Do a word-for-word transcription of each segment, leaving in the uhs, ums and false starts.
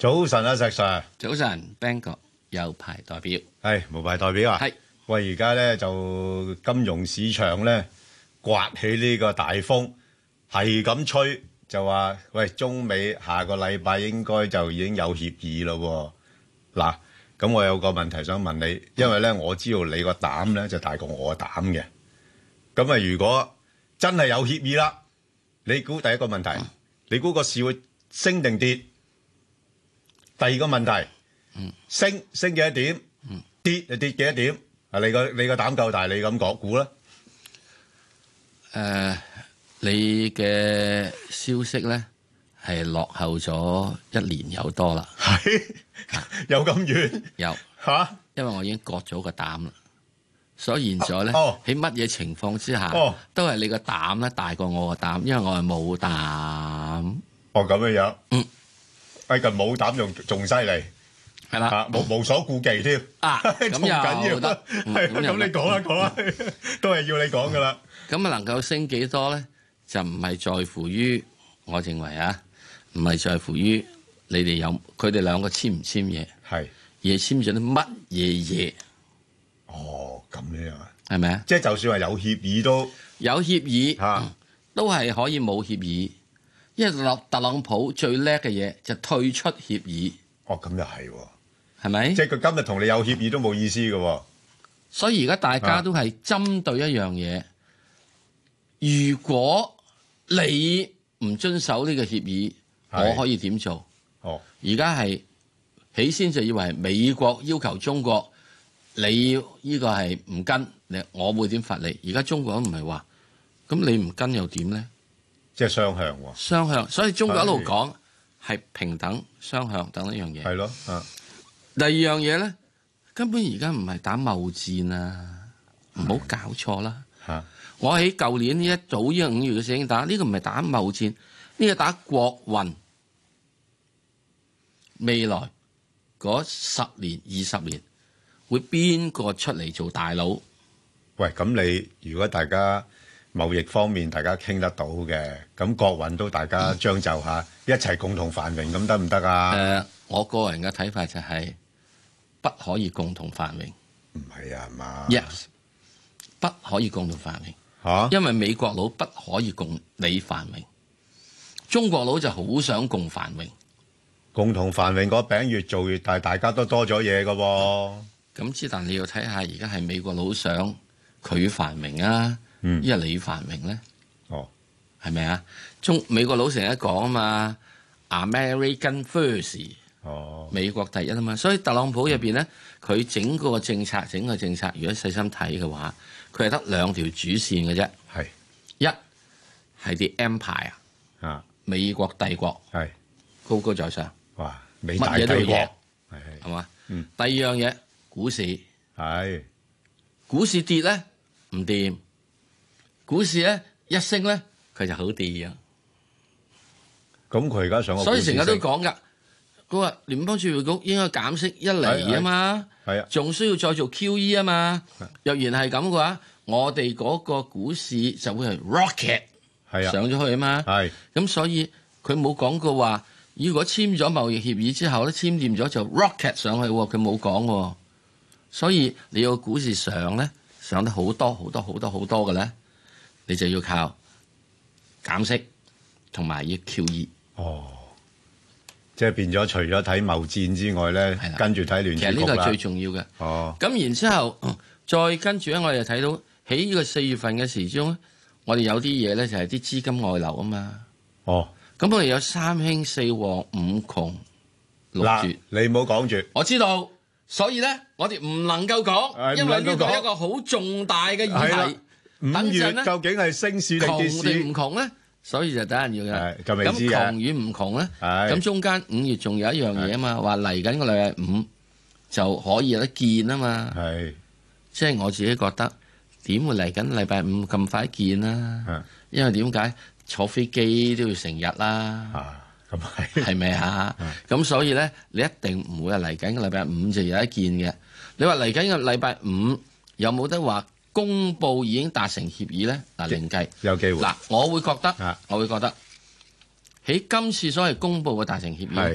早晨啊，石 Sir。 早晨 ，Bang 哥有牌代表。 係無牌代表啊？ 係。 喂，而家咧就金融市場咧刮起呢個大風，係咁吹就話喂，中美下個禮拜應該就已經有協議咯喎。嗱，咁我有個問題想問你，因為咧我知道你個膽咧就大過我個膽嘅。咁啊，如果真係有協議啦，你估第一個問題，你估個市會升定跌？第二個問題，升升幾多點？跌就跌幾多點？啊，你個你個膽夠大，你咁講估啦。 誒，你嘅消息咧係落後咗一年有多啦。 係有咁遠？ 有嚇， 因為我已經割咗個膽啦，所以現在咧哦喺乜嘢情況之下， 哦都係你個膽咧大過我個膽，因為我係冇膽。 哦咁樣樣。 嗯。 誒，近冇膽仲仲犀利。 係啦。 嚇，無無所顧忌添。 啊，咁仲緊要又得。 係咁，你講啦講啦，都係要你講噶啦。 咁啊，能夠升幾多咧？就唔係在乎於我認為啊，唔係在乎於你哋有佢哋兩個簽唔簽嘢， 係而係簽咗啲乜嘢嘢。 哦，咁樣啊， 係咪啊？ 即係就算係有協議都有協議， 嚇， 都係可以冇協議，因為特特朗普最叻嘅嘢就退出協議。 哦，咁又係喎， 係咪？ 即係佢今日同你有協議都冇意思嘅喎。 所以而家大家都係針對一樣嘢。如果你唔遵守呢個協議，我可以點做？ 哦， 而家係起先就以為美國要求中國，你呢個係唔跟，你我會點罰你？而家中國都唔係話，咁你唔跟又點咧？ 即係雙向喎。 雙向，所以中國一路講係平等、雙向等一樣嘢。 係咯，啊。 第二樣嘢咧，根本而家唔係打貿戰啊，唔好搞錯啦。 嚇！ 我喺舊年呢一早呢個五月嘅時已經打，呢個唔係打貿戰，呢個打國運。未來嗰十年、二十年，會邊個出嚟做大佬？ 喂，咁你如果大家貿易方面大家傾得到嘅，咁國運都大家將就下，一齊共同繁榮，咁得唔得啊？ 誒，我個人嘅睇法就係不可以共同繁榮。 唔係啊嘛 Yes， 不可以共同繁榮。 嚇， 因為美國佬不可以共你繁榮，中國佬就好想共繁榮。 共同繁榮嗰餅越做越大，大家都多咗嘢㗎喎。 咁之但你要睇下，而家係美國佬想佢繁榮啊， 嗯， 因為你繁榮咧。 哦， 係咪啊？中美國佬成日講啊嘛 ，American First， 哦， 美國第一啊嘛。所以特朗普入邊咧，佢整個政策，整個政策，如果細心睇嘅話，佢係得兩條主線嘅啫。 係一係啲 Empire 啊， 美國帝國係高高在上。 哇，美大乜嘢都帝國要贏， 係係嘛？ 嗯， 第二樣嘢股市， 係股市跌咧唔掂，股市咧一升咧佢就好跌啊。 咁佢而家想個所以成日都股市講㗎，佢話聯邦儲備局應該減息一厘啊嘛， 係啊， 仲需要再做 Q E 啊嘛。若然係咁嘅話，我哋嗰個股市就會係 rocket 係啊， 上咗去啊嘛。 係咁所以佢冇講過話，如果簽咗貿易協議之後咧，簽掂咗就 rocket 上去喎，佢冇講喎。所以你個股市上咧，上得好多好多好多好多嘅咧，你就要靠減息同埋要 Q E。 哦，即係變咗，除咗睇貿戰之外咧，跟住睇聯儲局啦。 其實呢個係最重要嘅。 哦， 咁然之後，嗯再跟住咧，我哋就睇到喺呢個四月份嘅時鐘，我哋有啲嘢咧就係啲資金外流啊嘛。 哦， 咁我哋有三興四旺五窮六嗱絕。 你唔好講住， 我知道，所以咧我哋唔能夠講， 係因為呢個唔能夠講係一個好重大嘅係啦議題。 五月等陣咧究竟係升市定跌窮定市？ 唔窮咧？所以就等人要嘅。 係就未咁知嘅窮與唔窮咧？ 係咁中間五月仲有一樣嘢啊嘛，話嚟緊個禮拜五就可以有得見啊嘛。 係， 即係我自己覺得點會嚟緊禮拜五咁快見啦？因為點解坐飛機都要成日啦？ 啊，咁係係咪啊？咁所以咧，你一定唔會係嚟緊個禮拜五就有得見嘅。你話嚟緊個禮拜五有冇得話公佈已經達成協議咧？嗱，另計有機會。 嗱，我會覺得，我會覺得喺今次所謂公佈嘅達成協議，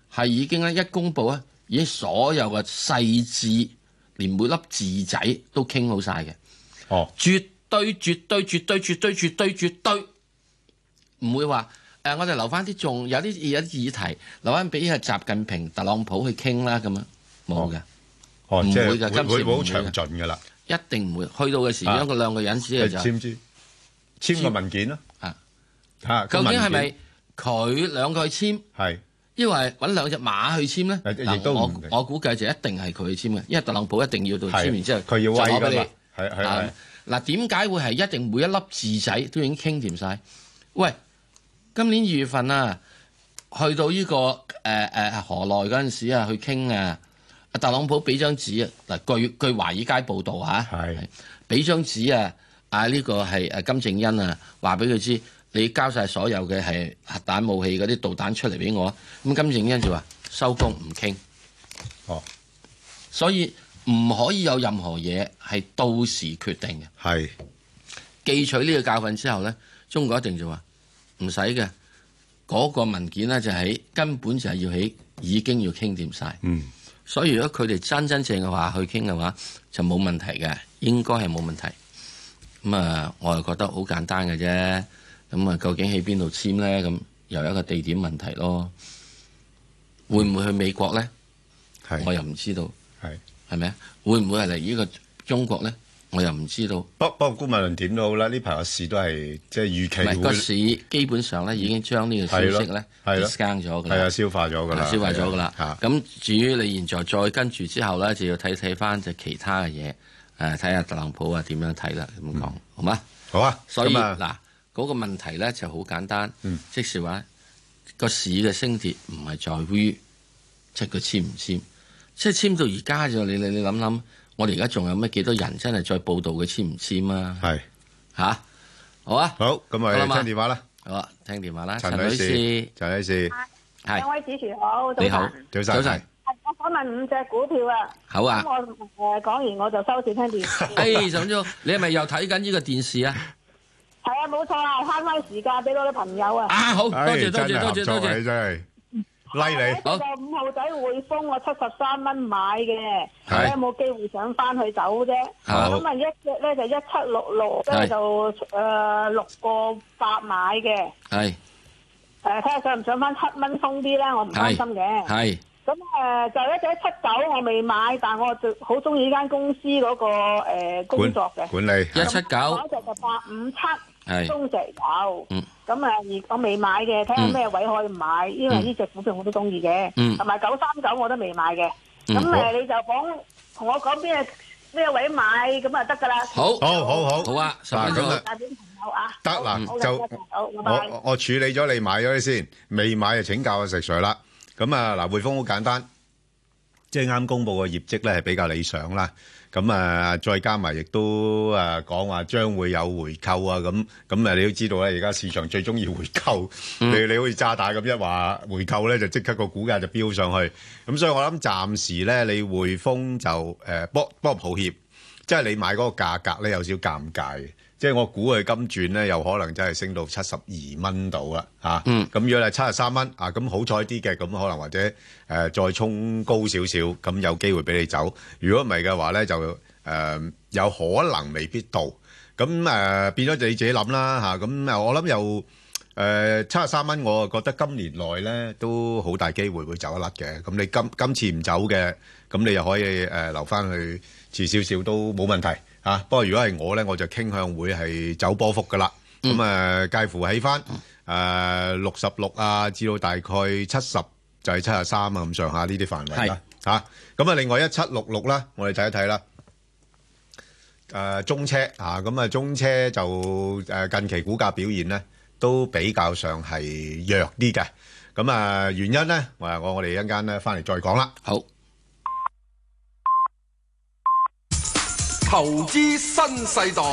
係已經咧一公佈咧，已經所有嘅細緻，連每粒字仔都傾好晒嘅。 哦， 絕對絕對絕對絕對絕對絕對唔會話誒、呃，我哋留翻啲仲有啲有啲議題留翻俾係習近平、特朗普去傾啦，咁樣冇嘅。 哦， 唔即係會㗎，今次會會好唔會㗎詳盡㗎啦。 一定唔會去到嘅時， 啊因為兩個人只係就簽唔簽？簽個文件咯。 啊， 嚇， 究竟係咪個文件佢兩個去簽？ 係因為揾兩隻馬去簽咧， 誒亦都嗱我唔定我估計就一定係佢去簽嘅，因為特朗普一定要到簽係完之後， 佢要威就攞俾你㗎嘛。係係係啊嗱，點解會係一定每一粒字仔都已經傾掂晒？喂，今年二月份啊，去到呢、個誒誒、呃、河內嗰陣時啊，去傾啊，阿特朗普俾張紙啊，嗱據據華爾街報導嚇， 係俾張紙啊，啊呢、個係誒金正恩啊，話俾佢知，你交晒所有嘅係核彈武器嗰啲導彈出嚟俾我，咁金正恩就話收工唔傾， 哦， 所以唔可以有任何嘢係到時決定嘅。 係記取呢個教訓之後咧，中國一定就話唔使嘅，嗰、個文件咧就喺根本就係要喺已經要傾掂晒。 嗯所以如果佢哋真真正嘅話去傾嘅話，就冇問題嘅，應該係冇問題。咁啊，我係覺得好簡單嘅啫。咁啊，究竟喺邊度簽咧？咁又有一個地點問題咯。會唔會去美國咧？ 係我又唔知道， 係。 係咪啊？會唔會係嚟呢個中國咧？我又唔知道。 不不過，姑勿論點都好啦，呢排個市都係即係預期唔係個會市基本上咧已經將呢個消息咧係咯 discount 咗㗎啦， 係啊，消化咗㗎啦， 消化咗㗎啦係啊。 咁至於你現在再跟住之後咧，就要睇睇翻就其他嘅嘢，誒睇下特朗普啊點樣睇啦，咁講好嗎？ 好啊。 所以咁啊嗱嗰個問題咧就好簡單， 嗯即是話個市嘅升跌唔係在於即係佢簽唔簽，即係簽到而家就你你你諗諗，我哋而家仲有咩幾多人真係再報道佢簽唔簽啊？ 係嚇，好啊， 好，咁我哋好啦嘛聽電話啦。 好啊，聽電話啦， 陳陳女女士士，， 陳女士， 係兩位主持好，早你好晨。， 早晨。 早晨， 我想問五隻股票啊。 好啊咁。我誒講完我就收線聽電視。 誒，沈總，你係咪又睇緊呢個電視啊？ 係啊，冇錯啊，慳翻時間俾到啲朋友啊。 啊，好多唉謝多謝多謝多真係合作謝你。真係拉你。 好就五號仔匯豐，我七十三蚊買嘅， 係睇有冇機會想翻去走啫。 好咁啊，一隻咧就一七六六， 係咧就誒六個八買嘅。 係誒，睇下上唔上翻七蚊鬆啲咧，我唔擔心嘅。 係咁誒就一隻一七九，我未買，但我就好中意呢間公司嗰個誒工作嘅。 管理。 一七九嗰隻就八五七。 係中石油， 嗯咁啊，而我未買嘅，睇下咩位可以買，因為呢隻股票我都中意嘅， 嗯同埋九三九我都未買嘅， 嗯咁誒你就講同我講邊個咩位買，咁啊得㗎啦。 好好好好。 好啊，十嗱咁啊分鐘。 帶俾朋友啊。 得好嗱就好好好拜拜我我處理咗你買咗啲先，未買就請教阿石 Sir 啦。咁啊嗱，匯豐好簡單，即係啱公佈嘅業績咧係比較理想啦。咁啊，再加埋亦都誒講話將會有回購啊，咁咁啊，你都知道咧，而家市場最中意回購，你你好似渣打咁一話回購咧，就即刻個股價就飆上去。咁所以我諗暫時咧，你匯豐就誒，不不過抱歉，即係你買嗰個價格咧有少少尷尬嘅。即係我估佢今轉咧，有可能真係升到七十二蚊度啦，嚇。 嗯咁如果係七十三蚊，啊咁好彩啲嘅，咁可能或者誒、呃、再衝高少少，咁有機會俾你走。如果唔係嘅話咧，就誒、呃、有可能未必到。咁誒、呃、變咗就你自己諗啦嚇。咁、啊、我諗又誒七十三蚊，我覺得今年內咧都好大機會會走一甩嘅。咁你今今次唔走嘅，咁你又可以誒、呃、留翻去遲少少都冇問題。啊！不過如果係我咧，我就傾向會係走波幅噶啦。咁誒、 嗯呃，介乎喺翻誒六十六啊，至到大概七十就係七十三啊咁上下呢啲範圍啦。嚇咁啊，另外一七六六啦，我哋睇一睇啦。誒、呃、中車啊，咁啊中車就誒、呃、近期股價表現咧都比較上係弱啲嘅。咁啊原因咧，我我我哋一陣間咧翻嚟再講啦。 好。 投資新世代，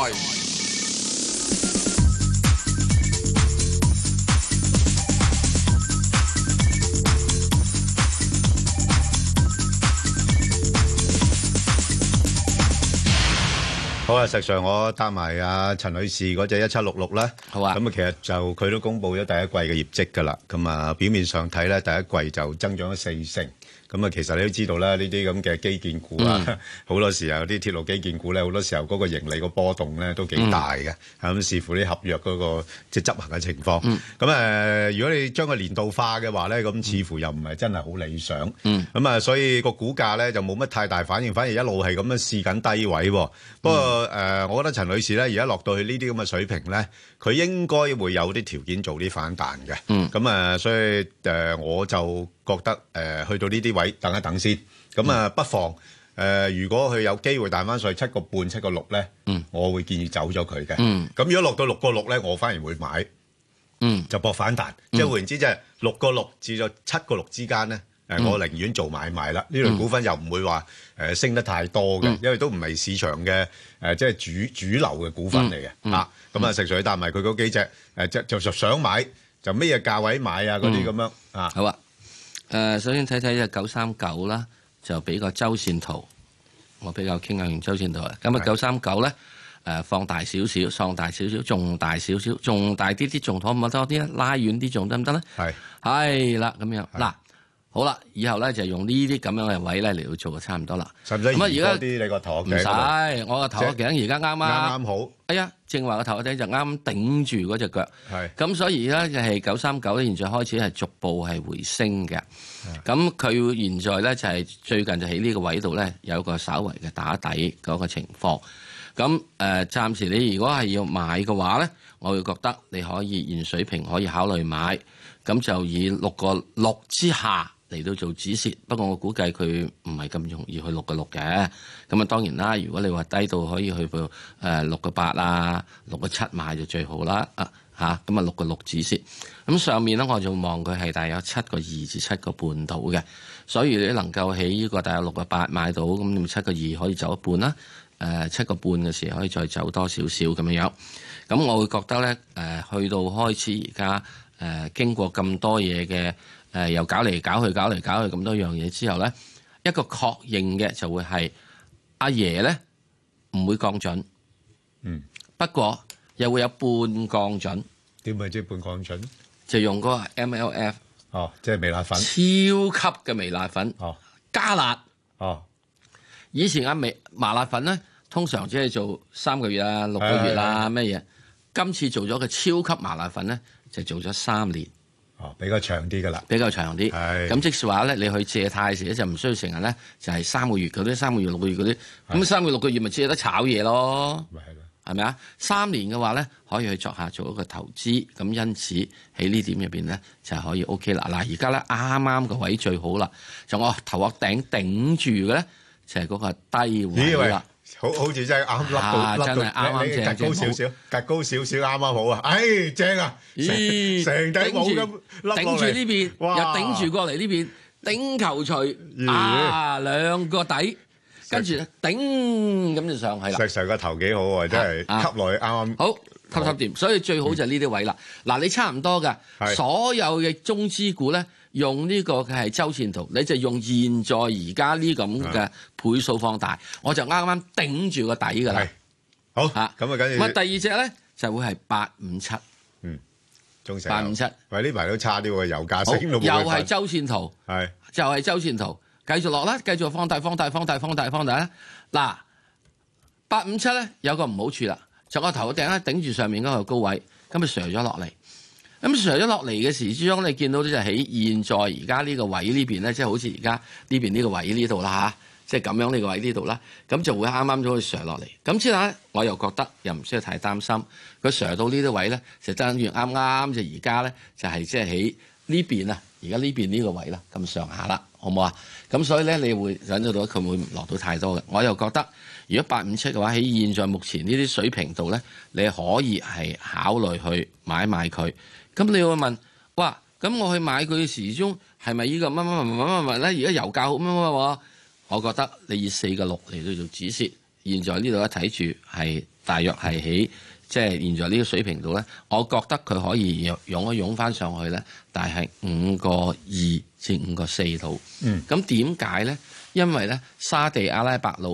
好啊，石 Sir，我答埋阿陳女士嗰隻一七六六啦。 好啊。 咁啊，其實就佢都公布咗第一季嘅業績㗎啦。咁啊，表面上睇咧，第一季就增長咗四成。咁啊，其實你都知道啦，呢啲咁嘅基建股啊，好、嗯、多時候啲鐵路基建股咧，好多時候嗰個盈利個波動咧都幾大嘅。咁、嗯、視乎啲合約嗰、那個即係執行嘅情況。咁、嗯、誒、呃，如果你將佢年度化嘅話咧，咁似乎又唔係真係好理想。咁、嗯、啊，所以個股價咧就冇乜太大反應，反而一路係咁樣試緊低位。不過誒、呃，我覺得陳女士咧而家落到去呢啲咁嘅水平咧，佢應該會有啲條件做啲反彈嘅。咁、嗯、啊，所以誒、呃，我就覺得誒、呃，去到呢啲位等一等先。咁啊，不妨誒、呃，如果佢有機會彈翻上去七個半、七個六咧，我會建議走咗佢嘅。咁、嗯、如果落到六個六咧，我反而會買，嗯、就搏反彈。嗯、即係換言之，即係六個六至到七個六之間咧。誒、嗯，我寧願做買賣啦。呢類股份又唔會話誒、呃、升得太多嘅、嗯，因為都唔係市場嘅誒、呃，即係主主流嘅股份嚟嘅、嗯嗯、啊。咁啊，食水搭埋佢嗰幾隻誒、呃，就就想買就咩嘢價位買啊？嗰啲咁樣啊。 好啊。誒、呃，首先睇睇隻九三九啦，就俾個周線圖，我比較傾向用周線圖啊。咁啊，九三九咧誒，放大少少，放大少少，仲大少少，仲大啲啲，仲可唔可多啲咧？拉遠啲仲得唔得咧？係係啦，咁樣嗱。好啦，以後咧就用呢啲咁樣嘅位咧嚟到做就差唔多啦。使唔使移多啲你個頭頸？唔使，我個頭頸而家啱啱啱啱好。哎呀，正話個頭頂就啱頂住嗰隻腳。係。咁所以而家就係九三九咧，現在開始係逐步係回升嘅。咁佢現在咧就係最近就喺呢個位度咧有一個稍微嘅打底嗰個情況。咁誒、呃，暫時你如果係要買嘅話咧，我會覺得你可以現水平可以考慮買。咁就以六個六之下嚟到做止蝕，不過我估計佢唔係咁容易去六個六嘅。咁啊當然啦，如果你話低到可以去到誒六個八啊、六個七買就最好啦。啊嚇，咁啊六個六止蝕。咁上面咧我就望佢係大約七個二至七個半度嘅，所以你能夠喺呢個大約六個八買到，咁你咪七個二可以走一半啦。誒七個半嘅時候可以再走多少少咁樣樣。咁我會覺得咧誒去到開始而家。誒、呃、經過咁多嘢嘅誒，又搞嚟搞去，搞嚟搞去咁多樣嘢之後咧，一個確認嘅就會係阿爺咧唔會降準，嗯，不過又會有半降準。點為之半降準？就用嗰個 M L F， 哦，即係微辣粉，超級嘅微辣粉，哦，加辣，哦，以前阿微麻辣粉咧，通常只係做三個月啊、六個月啊咩嘢，今次做咗個超級麻辣粉咧。就做咗三年，哦，比較長啲噶啦，比較長啲。係咁，即係話咧，你去借貸時咧就唔需要成日咧，就係三個月嗰啲，三個月六個月嗰啲。咁三個月六個月咪借得炒嘢咯，咪係咯，係咪啊？三年嘅話咧，可以去作下做一個投資。咁因此喺呢點入邊咧，就係可以 O K 啦。嗱，而家咧啱啱個位最好啦，就我頭殼頂頂住嘅咧，就係嗰個低位啦。好好似真係啱甩到，真係啱啱正，隔高少少，隔高少少啱啱好啊！哎，正啊！咦，成頂帽咁頂住呢邊，又頂住過嚟呢邊，頂球錘啊，兩個底，跟住咧頂咁就上去啦。石 Sir 個頭幾好啊，真係吸落去啱啱好吸吸掂，所以最好就係呢啲位啦。嗱，你差唔多噶，所有嘅中資股咧。用呢個嘅係周線圖，你就用現在而家呢咁嘅倍數放大，我就啱啱頂住個底㗎啦。好嚇，咁啊，跟住。咁啊，第二隻咧就會係八五七，嗯，中石油八五七。喂，呢排都差啲喎，油價升到冇。又係周線圖，係，就係周線圖，繼續落啦，繼續放大、放大、放大、放大、放大啦。嗱，八五七咧有個唔好處啦，就個頭頂咧頂住上面嗰個高位，咁啊瀡咗落嚟。咁上咗落嚟嘅時之中，你見到咧就喺現在而家呢個位呢邊咧，即係好似而家呢邊呢個位呢度啦嚇，即係咁樣呢個位呢度啦，咁就會啱啱咗去上落嚟。咁之後咧，我又覺得又唔需要太擔心，佢上到呢啲位咧，就等於啱啱就而家咧就係即係喺呢邊啊，而家呢邊呢個位啦，咁上下啦，好唔好啊？咁所以咧，你會想到到佢會唔落到太多嘅。我又覺得，如果八五七嘅話，喺現在目前呢啲水平度咧，你可以係考慮去買買佢。咁你會問，哇！咁我去買佢嘅時鐘係咪呢個乜乜乜乜乜乜咧？而家油價好乜乜乜？我覺得你以四個六嚟到做止蝕。現在呢度一睇住係大約係喺即係現在呢個水平度咧，我覺得佢可以湧一湧翻上去咧，但係五個二至五個四度。嗯。咁點解咧？因為咧沙地阿拉伯佬咧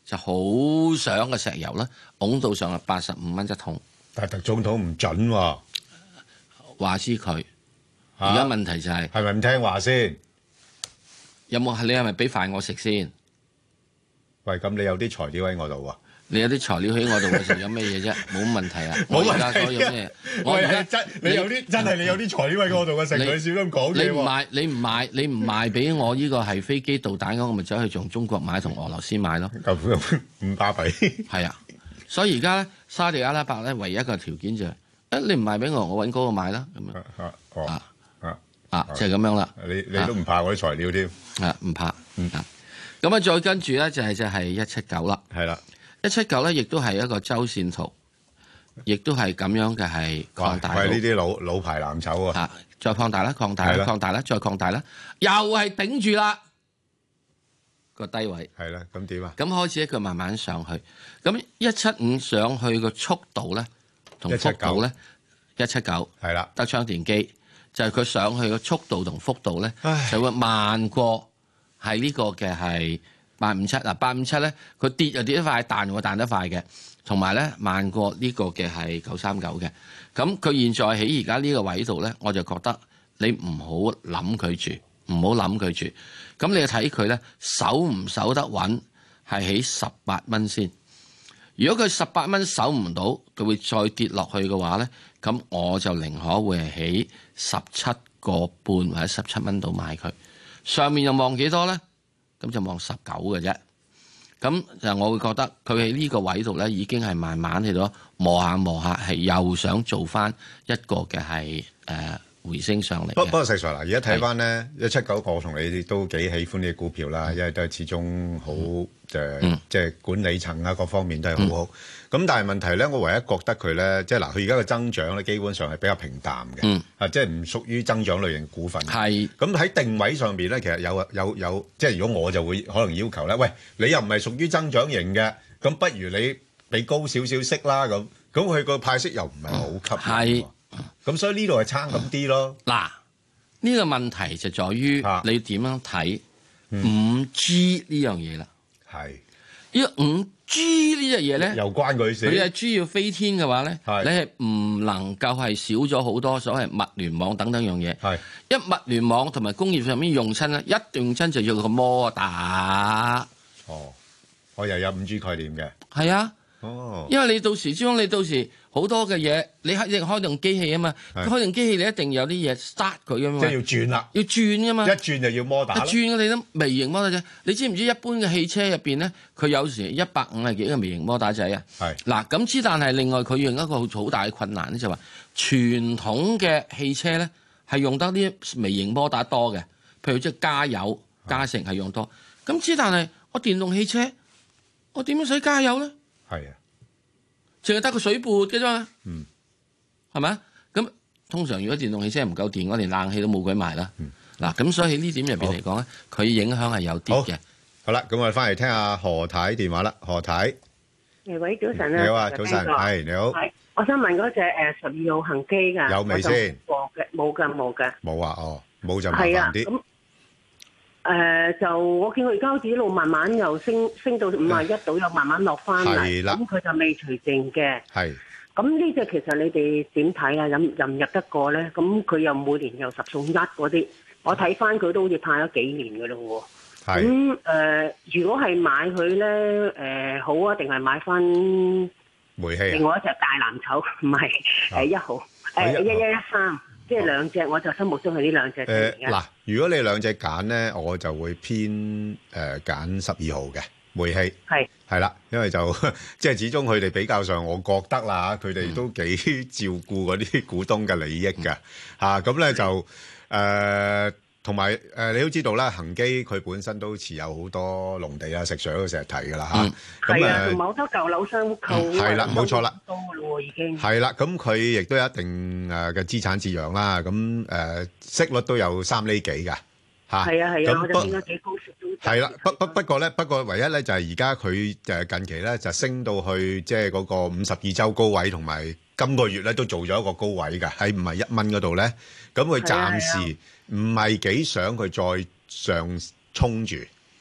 就好想嘅石油咧，拱到上去八十五蚊一桶。 但係特總統唔準喎， 話知佢。而家問題就係係咪唔聽話先？ 有冇你係咪俾飯我食先？ 喂，咁你有啲材料喺我度喎。 你有啲材料喺我度嘅時候有咩嘢啫？冇問題啊！ 冇我而家問題啊嗰樣咩？我喂而家真你有啲真係你有啲材料喺我度嘅，成你日少咁講你嘢喎。 唔賣你唔賣你唔賣俾我呢個係飛機導彈嗰，我咪走去從中國買同俄羅斯買咯。 咁唔巴閉。 係啊，所以而家咧沙地阿拉伯咧唯一一個條件就係、誒你唔賣俾我，我揾嗰個買啦咁樣。 啊哦啊啊啊，就係咁樣啦。 你你都唔怕我啲材料添？ 啊，唔怕。嗯啊，咁啊再跟住咧就係就係一七九啦。 係啦， 一七九咧亦都係一個周線圖，亦都係咁樣嘅係擴大到。 喂，呢啲老老牌藍籌啊！ 啊，再擴大啦，擴大啦， 係啦擴大啦，再擴大啦，又係頂住啦個低位。 係啦，咁點啊？ 咁開始咧，佢慢慢上去。咁一七五上去個速度咧，同幅度咧，一七九係啦， 德昌電機就係佢上去個速度同幅度咧唉， 就會慢過係呢個嘅係八五七嗱，八五七咧佢跌就跌得快，彈會彈得快嘅，同埋咧慢過呢個嘅係九三九嘅。咁佢現在喺而家呢個位度咧，我就覺得你唔好諗佢住，唔好諗佢住。咁你睇佢咧守唔守得穩，係喺十八蚊先。如果佢十八蚊守唔到，佢會再跌落去嘅話咧，咁我就寧可會係喺十七個半或者十七蚊度買佢。上面又望幾多咧？咁就望十九嘅啫。咁就我會覺得佢喺呢個位度咧，已經係慢慢喺度磨下磨下，係又想做翻一個嘅係誒回升上嚟嘅。 不不過石 Sir 嗱，而家睇翻咧一七九，我同你都幾喜歡呢啲股票啦，因為都係始終好誒，即係管理層啊各方面都係好好。咁但係問題咧，我唯一覺得佢咧，即係嗱，佢而家嘅增長咧，基本上係比較平淡嘅，啊，即係唔屬於增長類型股份。 係。 咁喺定位上邊咧，其實有有有，即係如果我就會可能要求咧，喂，你又唔係屬於增長型嘅，咁不如你俾高少少息啦，咁咁佢個派息又唔係好吸引喎。咁所以呢度係差咁啲咯。 嗱，呢個問題就在於你點樣睇五 G 呢樣嘢啦。 係呢個五 G 呢隻嘢咧， 又關佢事。 佢係 G 要飛天嘅話咧，你係唔能夠係少咗好多所謂物聯網等等樣嘢。 係一物聯網同埋工業上面用親咧，一用親就要個摩打。 哦，我又有五 G 概念嘅。 係啊。 哦。 因為你到時，始終你到時好多嘅嘢，你開你開動機器啊嘛，開動機器你一定有啲嘢 start 佢噶嘛。 即係要轉啦。 要轉噶嘛。 一轉就要摩打啦。 一轉你都微型摩打仔，你知唔知一般嘅汽車入邊咧，佢有時一百五十幾個微型摩打仔啊？ 係。嗱咁之，但係另外佢用一個好大嘅困難咧，就話傳統嘅汽車咧係用得啲微型摩打多嘅，譬如即係加油、加成係用多。咁之，但係我電動汽車，我點樣使加油咧？ 係啊。 淨係得個水撥嘅啫嘛， 嗯， 係咪啊？咁通常如果電動汽車唔夠電，我連冷氣都冇鬼埋啦。嗱、嗯，咁所以呢點入邊嚟講咧，佢影響係有啲嘅。 好啦，咁我哋翻嚟聽下何太電話啦。何太， 誒，喂，早晨啊， 你好啊，早晨，係你好。 係，我想問嗰隻誒十二號恒基㗎， 有未先？ 冇嘅，冇㗎，冇㗎。 冇啊，哦，冇就麻煩啲。 咁誒就我見佢而家好似一路慢慢又升升到五啊一度，又慢慢落翻嚟。 係啦。 咁佢就未除淨嘅。 係。 咁呢隻其實你哋點睇啊？入入唔入得過咧？咁佢又每年又十送一嗰啲，我睇翻佢都好似派咗幾年㗎咯喎。 係。 咁誒、呃，如果係買佢咧，誒、呃、好啊，定係買翻煤氣啊？ 另外一隻大藍籌，唔係誒一號，誒一一一三。即係兩隻，我就心目中係呢兩隻嚟嘅。 嗱，如果你兩隻揀咧，我就會偏誒揀十二號嘅煤氣。係係啦，因為就即係始終佢哋比較上，我覺得啦嚇，佢哋都幾照顧嗰啲股東嘅利益㗎嚇。咁咧就誒。同埋誒，你都知道啦，恒基佢本身都持有好多農地啊，石 Sir 都成日提㗎啦嚇。 係啊，同埋好多舊樓收購。 係啦，冇錯啦。 多㗎咯喎，已經。係啦，咁佢亦都有一定誒嘅資產折讓啦。咁誒息率都有三厘幾㗎嚇。 係啊係啊，我就見到幾高息都。 係啦，不不不過咧，不過唯一咧就係而家佢誒近期咧就升到去即係嗰個五十二週高位，同埋今個月咧都做咗一個高位㗎，喺五十一蚊嗰度咧。咁佢暫時唔係幾想佢再上衝住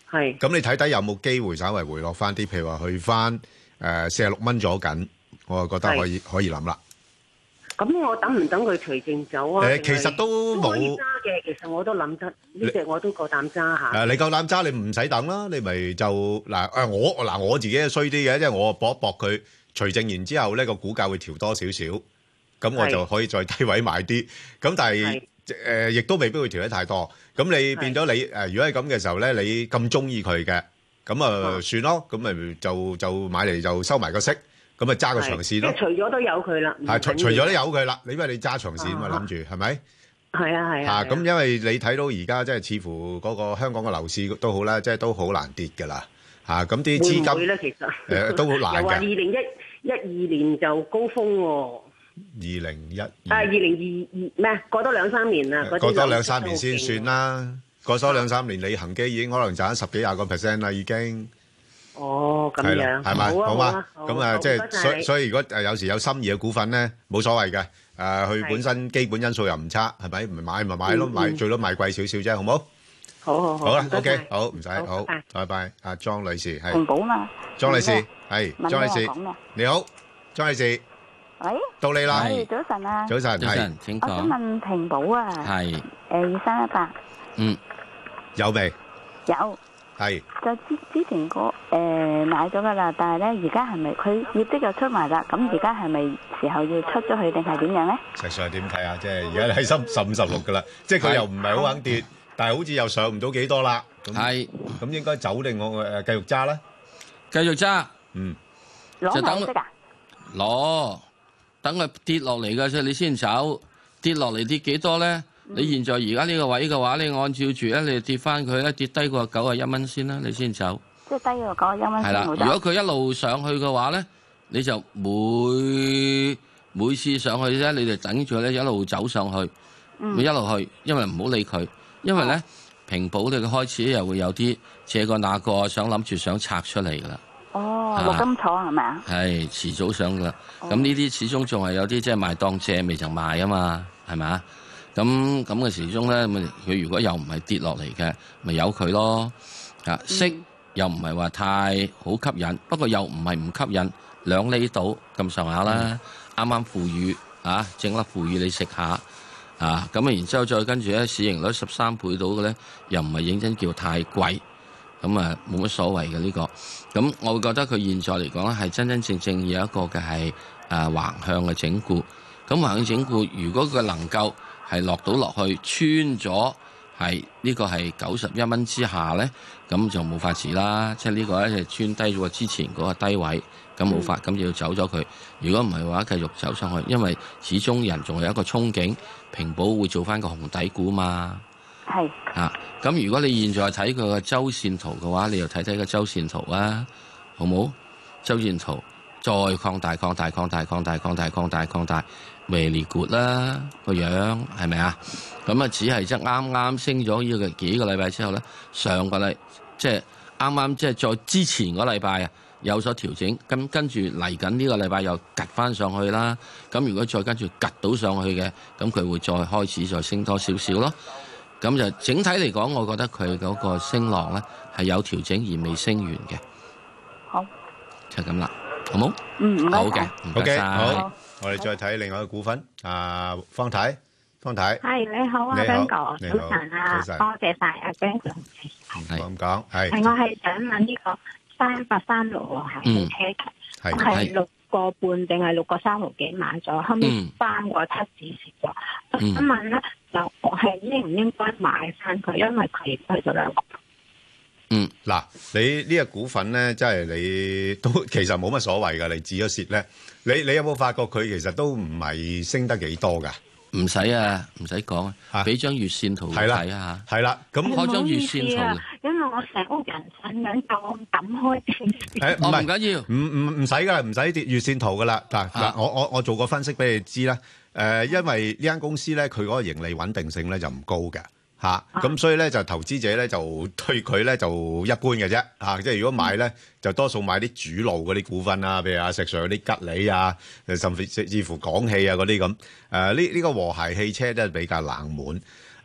係。 咁你睇睇有冇機會稍微回落翻啲，譬如話去翻誒四十六蚊咗緊，我就覺得可以可以諗啦。 咁我等唔等佢除淨走啊？ 誒，其實都冇可以揸嘅，其實我都諗得呢隻我都夠膽揸下。 誒，你夠膽揸，你唔使等啦，你咪就嗱誒我嗱我自己係衰啲嘅，因為我搏一搏佢除淨完之後咧個股價會調多少少，咁我就可以再低位買啲。咁但係誒亦都未必會調得太多。咁你變咗你誒，如果係咁嘅時候咧，你咁中意佢嘅，咁啊算咯，咁咪就就買嚟就收埋個息。咁咪揸個長線咯， 即係除咗都有佢啦， 係除除咗都有佢啦。你因為你揸長線嘛，諗住係咪？ 係啊係啊。 嚇咁，因為你睇到而家即係似乎嗰個香港嘅樓市都好啦，即係都好難跌㗎啦。嚇咁啲資金會唔會咧？其實誒都好難嘅。 又話二零一一二年就高峰喎。 二零一二。 啊！二零二二咩？過多兩三年啦。 過多兩三年先算啦。過多兩三年，你恒基已經可能賺十幾廿個 percent 啦，已經。 哦，咁樣係咪？好嘛，咁啊，即係所所以，如果誒有時有心儀嘅股份咧，冇所謂嘅。誒，佢本身基本因素又唔差，係咪？唔買咪買咯，買最多買貴少少啫，好冇？ 好好好。 好啦，OK，好，唔使，好，拜拜。阿莊女士係。 平保嘛？ 莊女士係，莊女士，你好，莊女士。 喂。 到你啦。 係早晨啊。 早晨， 早晨，請講。 我想問平保啊。 係。 誒，二三一八。 嗯。 有未？ 有。 係就之之前嗰誒買咗噶啦，但係咧而家係咪佢業績就出埋啦？咁而家係咪時候要出咗去定係點樣咧？ 實際係點睇啊？即係而家喺十十五十六噶啦，即係佢又唔係好肯跌，但係好似又上唔到幾多啦。 係咁應該走定我誒繼續揸咧？ 繼續揸。 嗯。 攞埋息啊？ 攞，等佢跌落嚟嘅啫，你先走。跌落嚟跌幾多咧？你現在而家呢個位嘅話，你按照住咧，你跌翻佢咧，跌低過九十一蚊先啦，你先走。 即係低過九十一蚊先。係啦， 如果佢一路上去嘅話咧，你就每每次上去咧，你哋等住咧一路走上去，嗯、一路去，因為唔好理佢，因為咧、哦、平保你嘅開始又會有啲這個那個想諗住想拆出嚟噶啦。 哦，陸金廠係咪啊？ 係遲早上噶啦，咁呢啲始終仲係有啲即係賣當借未曾賣啊嘛，係咪啊？咁咁嘅時鐘咧，咪佢如果又唔係跌落嚟嘅，咪由佢咯。啊，息又唔係話太好吸引，不過又唔係唔吸引，兩厘到咁上下啦。啱啱富裕啊，整粒富裕你食下啊，咁啊，然之後再跟住咧，市盈率十三倍到嘅咧，又唔係認真叫太貴，咁啊冇乜所謂嘅呢個。咁我會覺得佢現在嚟講咧，係真真正正有一個嘅係誒橫向嘅整固。咁橫向整固，如果佢能夠係落到落去穿咗係呢個係九十一蚊之下咧，咁就冇法子啦。即係呢個咧就穿低咗之前嗰個低位，咁冇法，咁就要走咗佢。如果唔係嘅話，繼續走上去，因為始終人仲有一個憧憬，平保會做翻個紅底股嘛。 係。 啊，咁如果你現在睇佢個周線圖嘅話，你又睇睇個周線圖啊，好冇？周線圖再擴大、擴大、擴大、擴大、擴大、擴大、擴大。very good 啦個樣係咪啊？咁啊只係即係啱啱升咗呢個幾個禮拜之後咧，上個禮即係啱啱即係再之前個禮拜啊有所調整，咁跟住嚟緊呢個禮拜又趌翻上去啦。咁如果再跟住趌到上去嘅，咁佢會再開始再升多少少咯。咁就整體嚟講，我覺得佢嗰個升浪咧係有調整而未升完嘅。 好， 就咁啦，好冇？ 嗯， 好嘅，唔該晒。 好。我哋再睇另外一個股份，啊，方太，方太， 係你好啊 Ben 哥，早晨啊，多謝晒阿 Ben 哥。 係咁講，係。 係我係想問呢個三八三六係汽車，我係六個半定係六個三毫幾買咗，後尾三個七止蝕咗。我想問咧，就我係應唔應該買翻佢？因為佢去咗兩個。 嗯，嗱，你呢個股份咧，即係你都其實冇乜所謂噶，你止咗蝕咧，你你有冇發覺佢其實都唔係升得幾多噶？ 唔使啊，唔使講啊，俾張月線圖睇下。 係啦，咁開張月線圖。 因為我成屋人想緊就我唔敢開電視。 誒，唔係唔緊要， 唔唔唔使噶啦，唔使跌月線圖噶啦。嗱嗱，我我我做個分析俾你知啦。誒，因為呢間公司咧，佢嗰個盈利穩定性咧就唔高嘅。嚇，咁、啊、所以咧就投資者咧就對佢咧就一般嘅啫嚇，即係如果買咧、嗯、就多數買啲主路嗰啲股份啊，譬如阿石 Sir 嗰啲吉利啊，甚至乎廣汽啊嗰啲咁。誒呢呢個和諧汽車都係比較冷門。誒、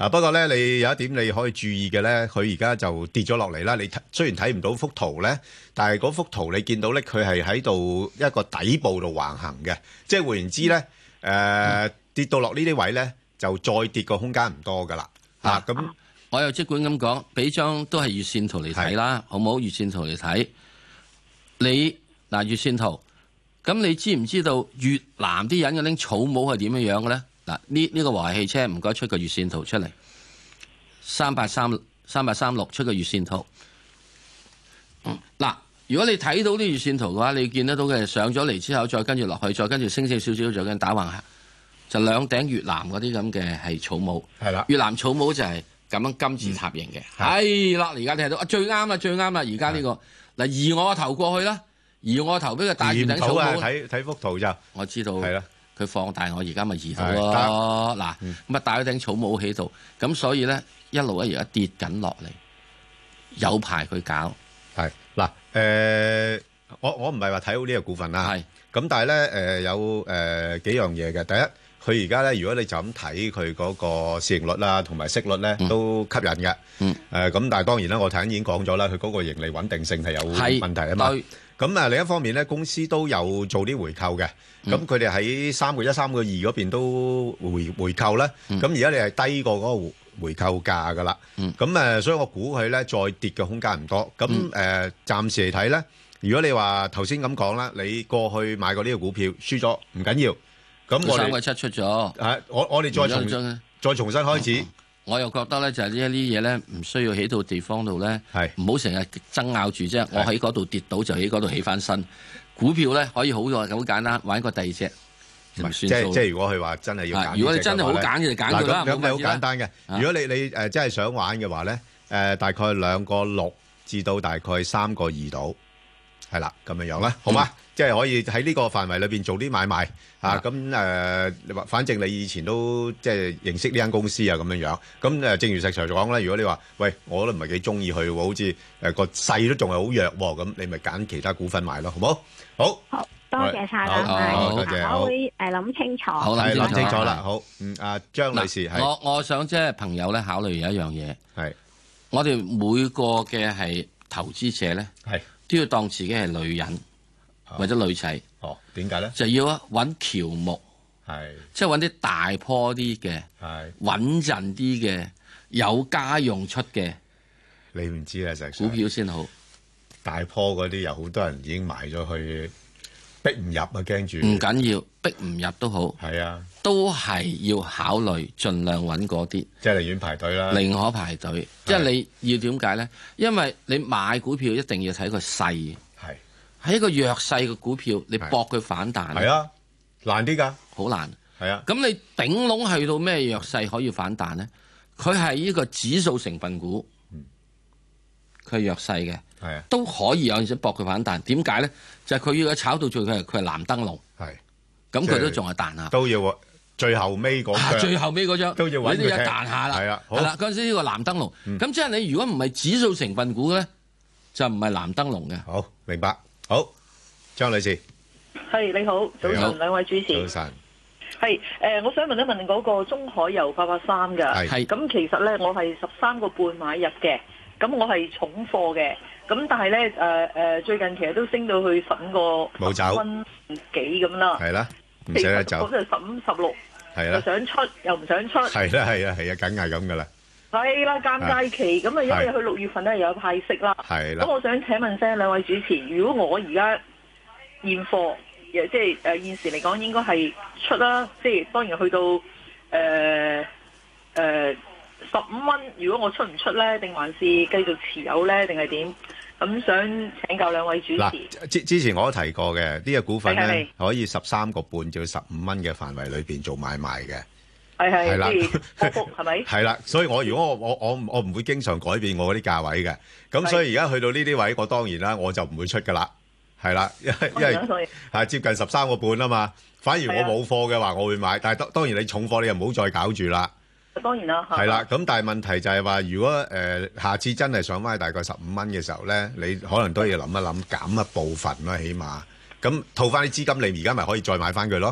啊，不過咧，你有一點你可以注意嘅咧，佢而家就跌咗落嚟啦。你睇雖然睇唔到幅圖咧，但係嗰幅圖你見到咧，佢係喺度一個底部度橫行嘅，即係換言之咧，誒、呃嗯、跌到落呢啲位咧，就再跌個空間唔多噶啦。啊，咁我又即管咁講，俾張都係月線圖嚟睇啦，好唔好？月線圖嚟睇，你嗱月線圖，咁你知唔知道越南啲人嘅拎草帽係點樣樣嘅咧？嗱，呢呢個華為汽車唔該出個月線圖出嚟，三八三三八三六出個月線圖。嗱、嗯，如果你睇到啲月線圖嘅話，你見得到嘅上咗嚟之後，再跟住落去，再跟住升升少少，再跟打橫行，就兩頂越南嗰啲咁嘅係草帽。係啦，越南草帽就係咁樣金字塔形嘅。係啦，而家你睇到啊，最啱啦，最啱啦！而家呢個嗱，移我個頭過去啦，移我個頭俾佢戴住頂草帽。 睇睇幅圖就我知道。係啦。佢放大我而家咪移到咯，嗱咁啊戴咗頂草帽喺度，咁所以咧一路一而家跌緊落嚟，有排佢搞。 係嗱誒，我我唔係話睇好呢個股份啦，係咁，但係咧誒有誒、呃、幾樣嘢嘅。第一，佢而家咧如果你就咁睇佢嗰個市盈率啦，同埋息率咧、嗯、都吸引嘅。嗯。誒、呃、咁，但係當然啦，我頭先已經講咗啦，佢嗰個盈利穩定性係有問題啊嘛。咁啊，另一方面咧，公司都有做啲回購嘅。咁佢哋喺三個一、三個二嗰邊都回回購咧。咁而家你係低過嗰個回購價噶啦。咁誒，所以我估佢咧再跌嘅空間唔多。咁誒，暫時嚟睇咧，如果你話頭先咁講啦，你過去買過呢個股票輸咗唔緊要。咁我哋三個七出咗。 係，我我哋再重再重新開始。 我又覺得咧，就係呢一啲嘢咧，唔需要喺到地方度咧，唔好成日爭拗住啫。我喺嗰度跌倒就喺嗰度起翻身。股票咧可以好咗，好簡單，玩個第二隻就算數。即係即係，如果佢話真係要揀， 如果你真係好揀嘅，就揀佢啦。 咁咪好簡單嘅。如果你你誒真係想玩嘅話咧，誒大概兩個六至到大概三個二度，係啦咁樣樣啦，好嘛？即係可以喺呢個範圍裏邊做啲買賣啊！咁誒，你話反正你以前都即係認識呢間公司啊，咁樣樣。咁誒，正如石 Sir 講咧，如果你話喂，我都唔係幾中意佢喎，好似誒個勢都仲係好弱喎，咁你咪揀其他股份買咯，好冇？好， 好多謝晒啦， 好，多謝， 我會誒諗清楚， 好係諗清楚啦，好，嗯，阿張女士係， 我我想即係朋友咧考慮有一樣嘢， 係我哋每個嘅係投資者咧，係都要當自己係女人。或者女仔， 哦，點解咧？ 就要揾喬木，係即係揾啲大棵啲嘅，係穩陣啲嘅，有家用出嘅。 你唔知啊，石 Sir 股票先好。 大棵嗰啲有好多人已經買咗去，逼唔入啊，驚住。 唔緊要，逼唔入都好。 係啊， 都係要考慮，盡量揾嗰啲。 即係寧願排隊啦。 寧可排隊，即係你要點解咧？因為你買股票一定要睇個勢。係一個弱勢嘅股票，你搏佢反彈， 係啊，難啲㗎， 好難。 係啊， 咁你頂籠去到咩弱勢可以反彈咧？佢係呢個指數成分股，佢係弱勢嘅，係啊，都可以有陣時搏佢反彈。點解咧？就係佢要炒到最，佢係佢係藍燈籠，係，咁佢都仲係彈下， 都要最後尾嗰張， 最後尾嗰張都要揾佢一彈下啦，係啊，係啦，嗰陣時呢個藍燈籠，咁即係你如果唔係指數成分股咧，就唔係藍燈籠嘅。 好，明白。好，張女士， 係你好，早晨兩位主持。 早晨， 係誒、呃，我想問一問嗰個中海油八八三㗎，係咁其實咧，我係十三個半買入嘅，咁我係重貨嘅，咁但係咧誒誒，最近其實都升到去十五個冇走蚊幾咁啦， 係啦，唔捨得走， 嗰陣十五十六，係啦，想出又唔想出， 係啦係啊係啊，梗係咁噶啦。 係啦，尷尬期咁啊，因為佢六月份咧有派息啦。係啦。咁我想請問聲兩位主持，如果我而家現貨，即係誒現時嚟講應該係出啦，即係當然去到誒誒十五蚊，如果我出唔出咧，定還是繼續持有咧，定係點？咁想請教兩位主持。 嗱，之之前我都提過嘅，呢個股份咧可以十三個半至十五蚊嘅範圍裏邊做買賣嘅。 係係，即係波幅係咪？係啦，所以我如果我我我我唔會經常改變我嗰啲價位嘅，咁所以而家去到呢啲位，我當然啦，我就唔會出噶啦，係啦，因為因為係接近十三個半啊嘛，反而我冇貨嘅話，我會買，但係當當然你重貨你又唔好再搞住啦。 當然啦， 係啦，咁但係問題就係話，如果誒、呃、下次真係上翻大概十五蚊嘅時候咧，你可能都要諗一諗減一部分啦，起碼咁套翻啲資金，你而家咪可以再買翻佢咯。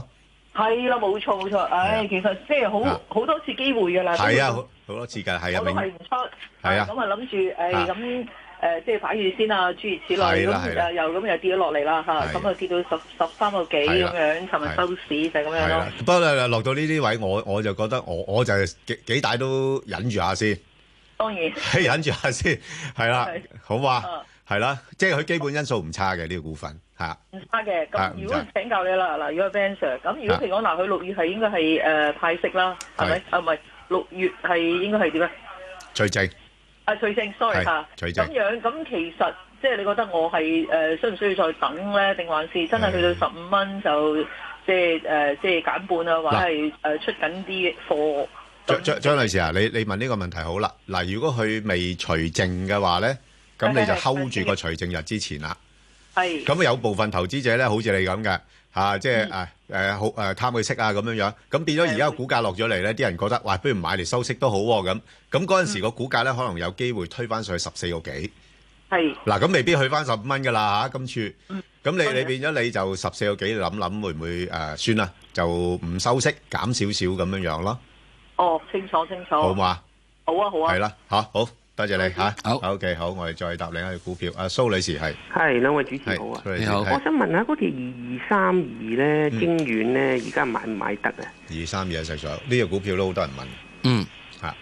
係啦，冇錯冇錯，唉，其實即係好好多次機會㗎啦。 係啊，好多次㗎，係啊， 我都係唔出。 係啊， 咁啊諗住誒咁誒，即係擺住先啊，諸如此類。咁誒又咁又跌咗落嚟啦嚇，咁啊跌到十十三個幾咁樣，尋日收市就係咁樣咯。 不過落到呢啲位，我我就覺得我我就幾幾大都忍住下先。 當然。 忍住下先，係啦，好嘛？係啦，即係佢基本因素唔差嘅呢個股份。 唔差嘅，咁如果請教你啦，嗱，如果 Ben Sir，咁如果譬如講嗱，佢六月係應該係誒派息啦，係咪？啊，唔係六月係應該係點咧？ 除淨啊，除淨 sorry 嚇，咁樣咁其實即係你覺得我係誒需唔需要再等咧？定還是真係去到十五蚊就即係誒即係減半啊？或者係誒出緊啲貨？ 張張張女士啊，你你問呢個問題好啦，嗱，如果佢未除淨嘅話咧，咁你就 hold 住個除淨日之前啦。 係咁有部分投資者咧，好似你咁嘅嚇，即係誒誒好誒貪佢息啊咁樣樣，咁變咗而家個股價落咗嚟咧，啲人覺得哇，不如買嚟收息都好喎咁。咁嗰陣時個股價咧，可能有機會推翻上去十四個幾。 係嗱，咁未必去翻十五蚊噶啦嚇，今次。咁你你變咗你就十四個幾，諗諗會唔會誒算啦？就唔收息，減少少咁樣樣咯。 哦，清楚清楚。 好嘛？ 好啊好啊。 係啦嚇，好。多謝你嚇， 好 OK 好，我哋再答另一隻股票。阿蘇女士係， 係兩位主持好啊， 你好。 我想問下嗰條二二三二咧，京遠咧，而家買唔買得啊？ 二三二啊，實在呢隻股票都好多人問。 嗯， 嚇，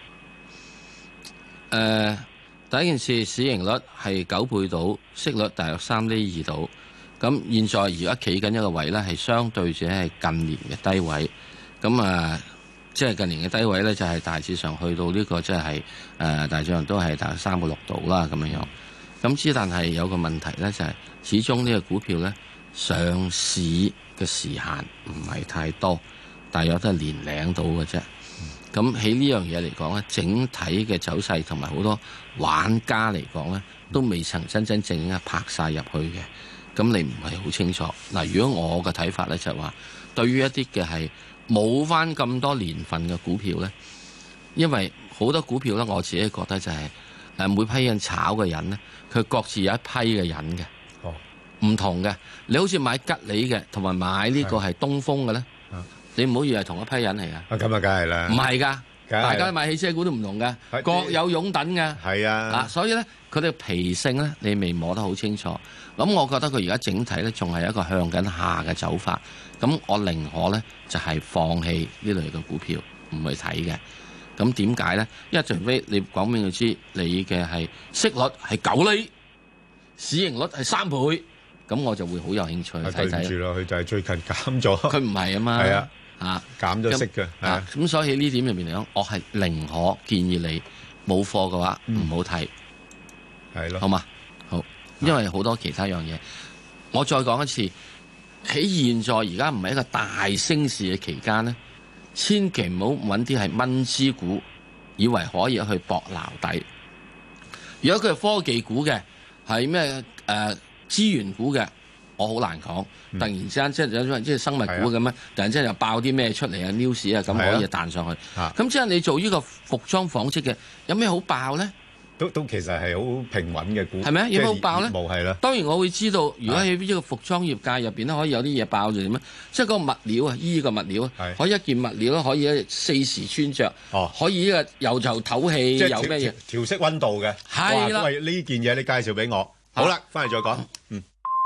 誒，第一件事市盈率係九倍到，息率大約三厘二到。咁現在而家企緊一個位咧，係相對住係近年嘅低位。咁啊。即係近年嘅低位咧，就係、是、大致上去到呢個即係誒大致上都係大約三個六度啦咁樣樣。咁之但係有個問題咧，就係、是、始終呢個股票咧上市嘅時限唔係太多，大約都係年零到嘅啫。咁喺呢樣嘢嚟講咧，整體嘅走勢同埋好多玩家嚟講咧，都未曾真真正正拍晒入去嘅。咁你唔係好清楚嗱。如果我嘅睇法咧，就係、是、話對於一啲嘅係冇翻咁多年份嘅股票咧，因為好多股票咧，我自己覺得就係、是、誒每批人炒嘅人咧，佢各自有一批嘅人嘅，哦，唔同嘅。你好似買吉利嘅，同埋買呢個係東風嘅咧，你唔好以為係同一批人嚟㗎。啊，咁啊，梗係啦，唔係㗎，大家買汽車股都唔同㗎，各有擁躉㗎。係啊，嗱，所以咧，佢哋嘅脾性咧，你未摸得好清楚。咁我覺得佢而家整體咧，仲係一個向緊下嘅走法。咁我寧可咧就係、是、放棄呢類嘅股票，唔去睇嘅。咁點解咧？因為除非你講俾佢知，你嘅係息率係九厘，市盈率係三倍，咁我就會好有興趣睇睇。對唔住咯，佢就係最近減咗。佢唔係啊嘛。係啊，嚇減咗息嘅。啊，咁所以喺呢點入面嚟講，我係寧可建議你冇貨嘅話唔好睇。係咯。好嘛？好，因為好多其他樣嘢。我再講一次。喺現在而家唔係一個大升市嘅期間咧，千祈唔好揾啲係蚊枝股，以為可以去搏撈底。如果佢係科技股嘅，係咩誒資源股嘅，我好難講。突然之間即係即係生物股咁樣，突然之間又爆啲咩出嚟啊 news 啊，咁可以彈上去。咁即係你做呢個服裝紡織嘅，有咩好爆咧？都都其實係好平穩嘅股，係咪啊？有冇爆咧？冇係啦。當然我會知道，如果喺呢個服裝業界入邊咧，可以有啲嘢爆住點咧？即係個物料啊，衣個物料啊，可以一件物料咧，可以四時穿着，哦，可以呢個又就透氣，有咩嘢調適溫度嘅？係啦。喂，呢件嘢你介紹俾我，好啦，翻嚟再講。嗯。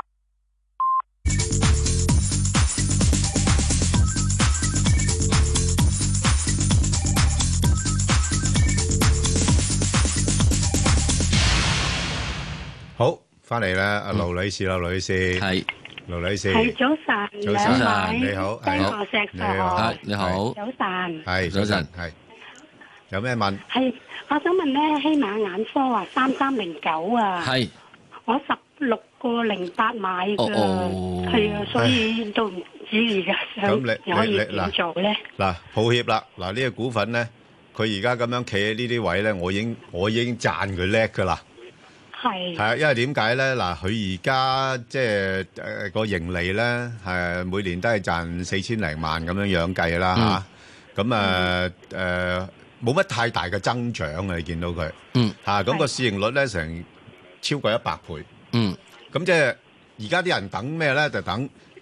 好，翻嚟啦，阿盧女士，盧女士係，盧女士係早晨，早晨，你好，你好，石 Sir，你好，早晨，係早晨，係，有咩問？係，我想問咧，希瑪眼科啊，三三零九啊，係，我十六個零八買噶，係啊，所以都唔知而家想可以點做咧？嗱，抱歉啦，嗱呢個股份咧，佢而家咁樣企喺呢啲位咧，我已經我已經讚佢叻噶啦。係，係啊，因為點解咧？嗱，佢而家即係誒個盈利咧，係每年都係賺四千零萬咁樣樣計啦嚇。咁誒誒冇乜太大嘅增長啊！你見到佢，嗯嚇，咁個市盈率咧成超過一百倍，嗯，咁即係而家啲人等咩咧？就等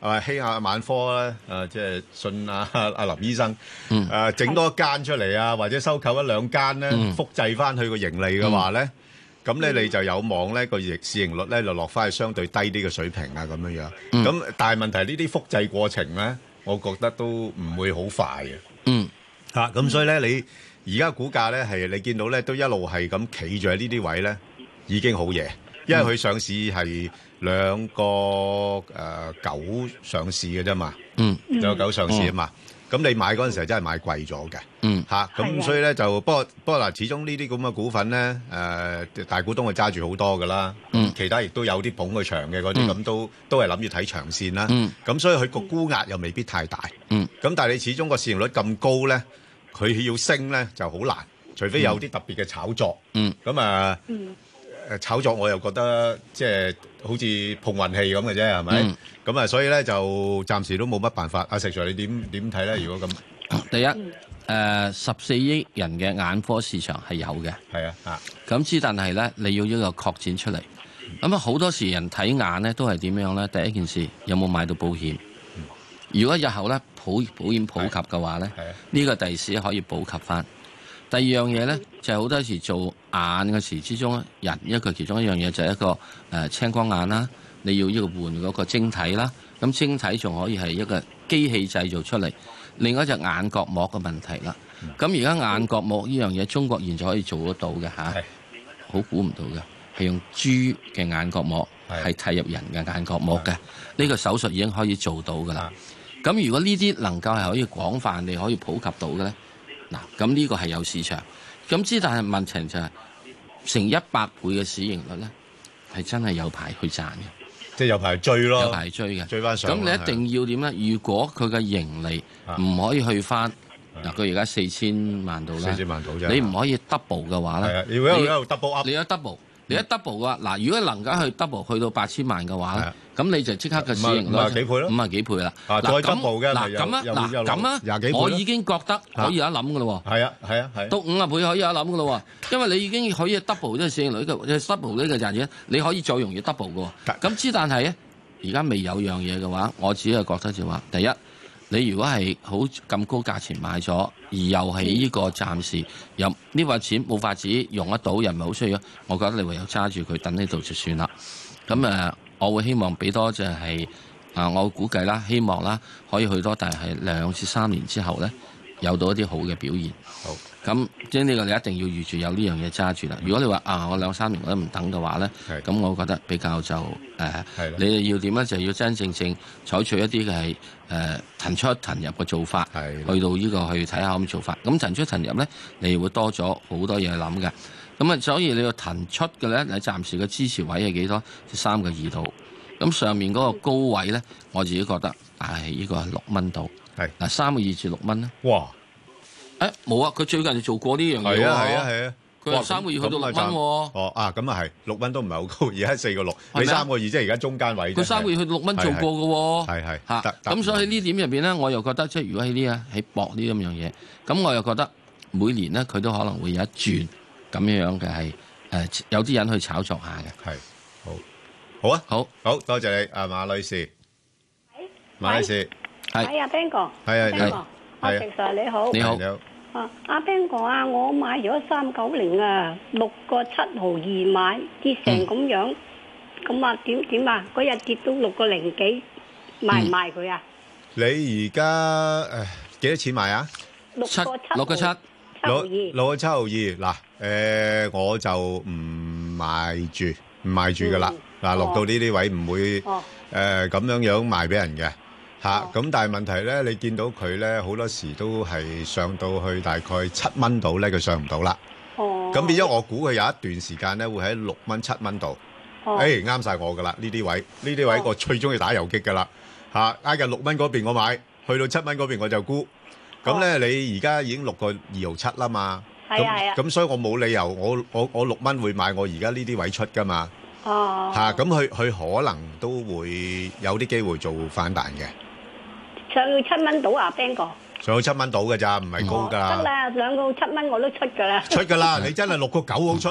啊希亞萬科咧，誒即係信阿阿林醫生， 嗯誒整多一間出嚟啊，或者收購一兩間咧， 嗯複製翻佢個盈利嘅話咧，咁咧嗯你就有望咧個市市盈率咧就落翻去相對低啲嘅水平啊，咁樣樣。 嗯咁但係問題呢啲複製過程咧，我覺得都唔會好快嘅。 嗯， 嚇咁所以咧，你而家股價咧係你見到咧都一路係咁企住喺呢啲位咧，已經好嘢，因為佢上市係兩個誒九上市嘅啫嘛， 嗯， 兩個九上市啊嘛。咁你買嗰陣時候真係買貴咗嘅， 嗯嚇咁所以咧就不過不過嗱，始終呢啲咁嘅股份咧誒大股東係揸住好多噶啦， 嗯其他亦都有啲捧佢場嘅嗰啲咁都都係諗住睇長線啦， 嗯咁所以佢個沽壓又未必太大， 嗯， 咁但係你始終個市盈率咁高咧，佢要升咧就好難，除非有啲特別嘅炒作， 嗯， 咁啊嗯誒炒作我又覺得即係好似碰運氣咁嘅啫，係咪？ 嗯咁啊，所以咧就暫時都冇乜辦法。阿石 Sir，你點點睇咧？如果咁， 第一，誒十四億人嘅眼科市場係有嘅， 係啊，啊， 咁之但係咧，你要一個擴展出嚟。咁啊，好多時人睇眼咧都係點樣咧？第一件事有冇買到保險？如果日後咧保保險普及嘅話咧，呢個第時可以補給翻。第二樣嘢咧就係、是、好多時做眼嘅時之中咧，人一個其中一樣嘢就係一個誒、呃、青光眼啦。你要呢個換嗰個晶體啦，咁晶體仲可以係一個機器製造出嚟。另外一隻眼角膜嘅問題啦，咁而家眼角膜呢樣嘢，中國現在可以做得到嘅嚇，好估唔到嘅，係用豬嘅眼角膜係替入人嘅眼角膜嘅，呢個手術已經可以做到㗎啦。咁如果呢啲能夠係可以廣泛地可以普及到嘅咧，嗱，咁呢個係有市場。咁之但係問題就係、是、成一百倍嘅市盈率咧，係真係有排去賺嘅。 即係有排追咯， 有排追嘅， 追翻上。 咁你一定要點咧？如果佢嘅盈利唔可以去翻嗱，佢而家四千萬度啦， 四千萬度啫。 你唔可以 double 嘅話咧， 係啊，如果一路 double up， 你一 double，你一 double 嘅話，嗱，如果能夠去 double 去到八千萬嘅話咧，咁你就即刻嘅市盈率五十幾倍咯， 五十幾倍啦。 啊，再 double 嘅嗱咁啊，嗱咁啊， 廿幾倍， 我已經覺得可以有得諗嘅咯喎。 係啊，係啊，係。 到五十倍可以有得諗嘅咯喎，因為你已經可以 double 呢個市盈率嘅，double 呢個賺錢，你可以再容易 double 嘅喎。咁之但係咧。而家未有樣嘢嘅話，我只係覺得就話，第一，你如果係好咁高價錢買咗，而又係呢個暫時又呢筆錢冇法子用得到，又唔係好需要，我覺得你唯有揸住佢等呢度就算啦。咁誒，我會希望俾多就係、是、啊，我估計啦，希望啦，可以去多，但係兩至三年之後咧，有到一啲好嘅表現。 好。咁即係呢個你一定要預住有呢樣嘢揸住啦。如果你話啊，我兩三年我都唔等嘅話咧，咁我覺得比較就誒、呃，你哋要點咧？就要真真正正採取一啲嘅係誒騰出騰入嘅做法，去到呢個去睇下咁做法。咁騰出騰入咧，你會多咗好多嘢諗嘅。咁啊，所以你要騰出嘅咧，你暫時嘅支持位係幾多？三個二度。咁上面嗰個高位咧，我自己覺得係呢個係六蚊度。係嗱，三個二至六蚊咧。哇！誒冇啊！佢最近就做過呢樣嘢喎。係啊係啊係啊！佢話三個月去到六蚊喎。 哦啊，咁啊係六蚊都唔係好高，而家四個六，你三個二即係而家中間位。 佢三個月去到六蚊做過嘅喎。 係係嚇，咁所以呢點入邊咧，我又覺得即係如果喺呢啊喺搏呢咁樣嘢，咁我又覺得每年咧佢都可能會有一轉咁樣樣嘅係誒有啲人去炒作下嘅。 係好，好啊， 好， 好多謝你啊馬女士。馬女士係。 係啊 Ben 哥。 係啊係。 阿石 Sir 你好。 你好。 啊，阿 Ben 哥啊，我買咗三九零啊，六個七毫二買，跌成咁樣，咁啊點點啊？嗰日跌到六個零幾，賣唔賣佢啊？ 你而家誒幾多錢買啊？ 六個七， 六個七， 六六個七毫二嗱誒，我就唔賣住，唔賣住噶啦嗱，落到呢啲位唔會誒咁樣樣賣俾人嘅。嚇！咁但係問題咧，你見到佢咧好多時都係上到去大概七蚊度咧，佢上唔到啦。哦。咁變咗我估佢有一段時間咧會喺六蚊七蚊度。哦。誒啱曬我㗎啦！呢啲位，呢啲位我最中意打遊擊㗎啦。嚇！挨近六蚊嗰邊我買，去到七蚊嗰邊我就沽。咁咧你而家已經六個二毫七啦嘛。係啊係啊。咁所以我冇理由我我我六蚊會買我而家呢啲位出㗎嘛。哦。嚇！咁佢佢可能都會有啲機會做反彈嘅。 上到七蚊到啊 Ben 哥， 上到七蚊到嘅咋，唔係高㗎。 得啦，兩個七蚊我都出㗎啦。 出㗎啦，你真係六個九好出啦。 係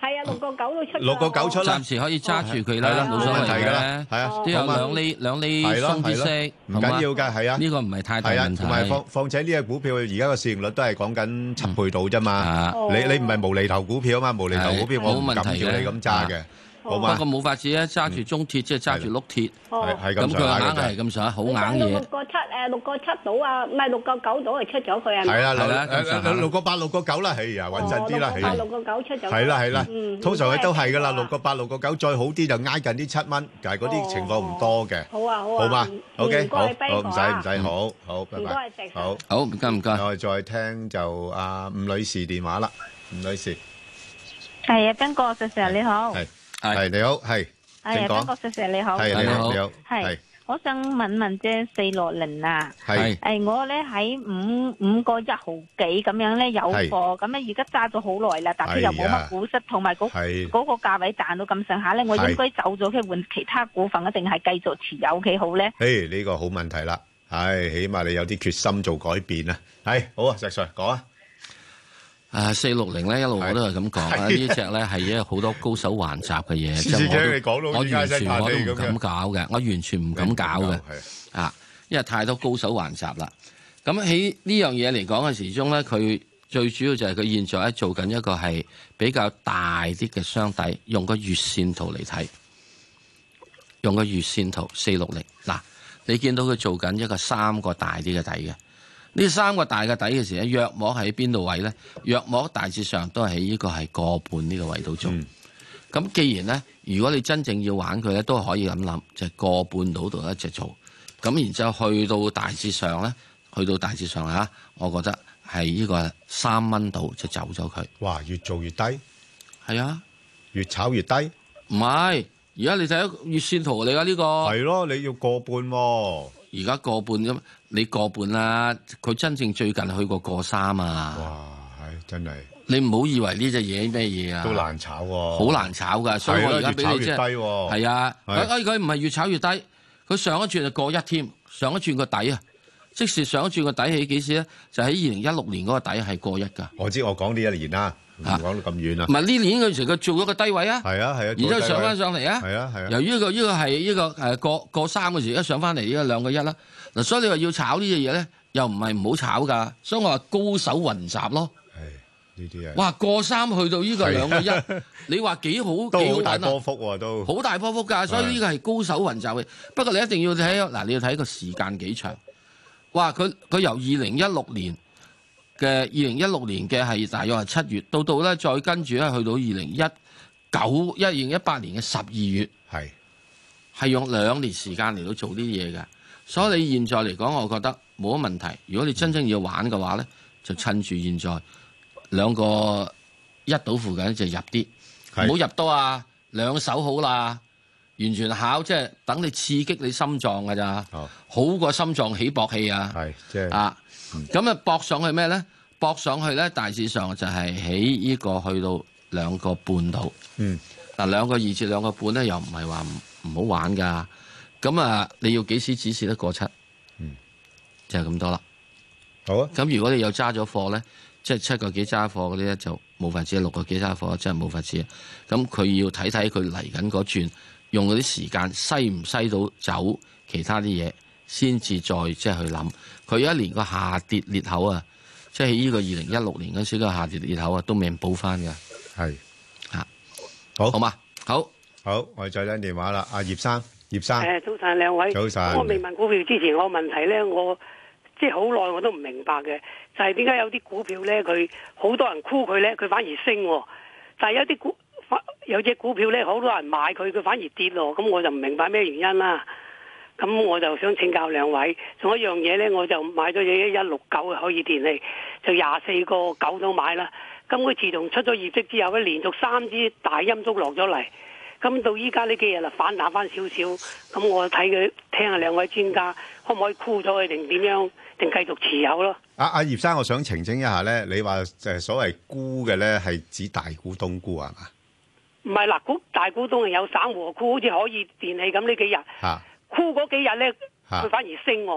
係啊，六個九都出。 六個九出啦， 暫時可以揸住佢啦，冇所謂嘅。 係啊， 都有兩厘兩厘鬆啲息， 唔緊要㗎，係啊， 呢個唔係太大問題。 同埋況況且呢隻股票而家個市盈率都係講緊七倍到啫嘛。你你唔係無厘頭股票啊嘛，無厘頭股票我唔敢叫你咁揸嘅。 不過冇法子啊，揸住中鐵即係揸住碌鐵， 係咁佢硬係咁上下，好硬嘢。 六個七誒，六個七到啊，唔係六個九到係出咗佢啊。 係啦，係啦，六個八、六個九啦，係啊，穩陣啲啦，係。 六個九出咗。 係啦，係啦，通常佢都係噶啦，六個八、六個九再好啲就挨近啲七蚊，但係嗰啲情況唔多嘅。 好啊，好啊。 好嘛，OK，好， 好唔使唔使，好好，拜拜。好， 好唔該唔該。 我哋再聽就阿吳女士電話啦，吳女士。 係啊，邊個石 Sir 你好。 係係你好，係。 係啊，邊個石 Sir 你好。 係你好，你好。 係。我想問問隻四六零啊， 係誒我咧喺五五個一毫幾咁樣咧有貨，咁咧而家揸咗好耐啦，但係又冇乜股息，同埋嗰嗰個價位賺到咁上下咧，我應該走咗去換其他股份，一定係繼續持有幾好咧？ 誒呢個好問題啦，係起碼你有啲決心做改變啊，係好啊，石 Sir 講啊。 誒四六零咧一路我都係咁講啊，呢隻咧係因為好多高手還集嘅嘢，即係我我完全我都唔敢搞嘅，我完全唔敢搞嘅啊，因為太多高手還集啦。咁喺呢樣嘢嚟講嘅時鐘咧，佢最主要就係佢現在咧做緊一個係比較大啲嘅箱底，用個月線圖嚟睇，用個月線圖四六零嗱，你見到佢做緊一個三個大啲嘅底嘅。呢三個大嘅底嘅時候，約莫喺邊度位咧？約莫大致上都係喺呢個係個半呢個位度做。咁、嗯、既然咧，如果你真正要玩佢咧，都可以咁諗，就係、是、個半度度一直做。咁然之後去到大致上咧，去到大致上嚇，我覺得係呢個三蚊度就走咗佢。 哇！越做越低， 係啊， 越炒越低。 唔係，而家你睇月線圖嚟㗎呢個。係咯，你要個半喎。 而家個半咁，你個半啦，佢真正最近去過個三啊！ 哇，係真係！ 你唔好以為呢隻嘢咩嘢啊， 都難炒喎， 好難炒㗎，所以我而家俾你即係係啊！佢佢唔係越炒越低，佢上一轉就過一添，上一轉個底啊！即使上一轉個底起幾時咧？就喺二零一六年嗰個底係過一㗎。 我知，我講呢一年啦，唔講到咁遠啦。 唔係呢年嗰陣時佢做咗個低位啊！ 係啊係啊， 然之後上翻上嚟啊！ 係啊係啊。 由於呢個呢個係呢個誒過過三嘅時，一上翻嚟呢個兩個一啦。嗱，所以你話要炒呢隻嘢咧，又唔係唔好炒㗎。所以我話高手雲集咯。 係呢啲啊。哇， 過三去到呢個兩個一，你話幾好幾好都好大波幅喎，都好大波幅㗎。所以呢個係高手雲集嘅。不過你一定要睇嗱，你要睇個時間幾長。哇！佢佢由二零一六年嘅二零一六年嘅係大約係七月，到到咧再跟住咧去到二零一九一二零一八年嘅十二月， 係係用兩年時間嚟到做呢啲嘢嘅。所以你現在嚟講，我覺得冇乜問題。如果你真正要玩嘅話咧，就趁住現在兩個一到附近就入啲，唔好入多啊，兩手好啦。完全考即係等你刺激你心臟㗎咋，哦、好過心臟起搏器啊！ 係即係啊，咁啊搏上去咩咧？搏上去咧，大致上就係喺呢個去到兩個半度。 嗯， 嗱兩個二至兩個半咧，又唔係話唔唔好玩㗎。咁啊，你要幾時指示得過七？嗯，就係咁多啦。 好啊。 咁如果你有揸咗貨咧，即係七個幾揸貨嗰啲咧，就冇法子；六個幾揸貨真係冇法子。咁佢要睇睇佢嚟緊嗰轉。用嗰啲時間篩唔篩到走其他啲嘢，先至再即係去諗。佢一年個下跌裂口啊，即係呢個二零一六年嗰時個下跌裂口啊，都未補翻嘅。 係嚇， 好好嘛，好， 好，我哋再聽電話啦。阿葉生，葉生， 誒早晨兩位， 早晨。 我未問股票之前，我問題咧，我即係好耐我都唔明白嘅，就係點解有啲股票咧，佢好多人沽佢咧，佢反而升喎，但係有啲股。有隻股票咧，好多人買佢，佢反而跌咯。咁我就唔明白咩原因啦。咁我就想請教兩位。仲有一樣嘢咧，我就買咗隻一一六九嘅海爾電器，就廿四個九都買啦。咁佢自從出咗業績之後咧，連續三支大陰燭落咗嚟。咁到依家呢幾日啦，反彈翻少少。咁我睇佢聽下兩位專家，可唔可以沽咗佢定點樣，定繼續持有咯？ 阿阿葉生，我想澄清一下咧，你話誒所謂沽嘅咧，係指大股東沽係嘛？ 唔係嗱，股大股東係有散戶沽，好似可以電器咁呢幾日，沽嗰幾日咧，佢反而升喎。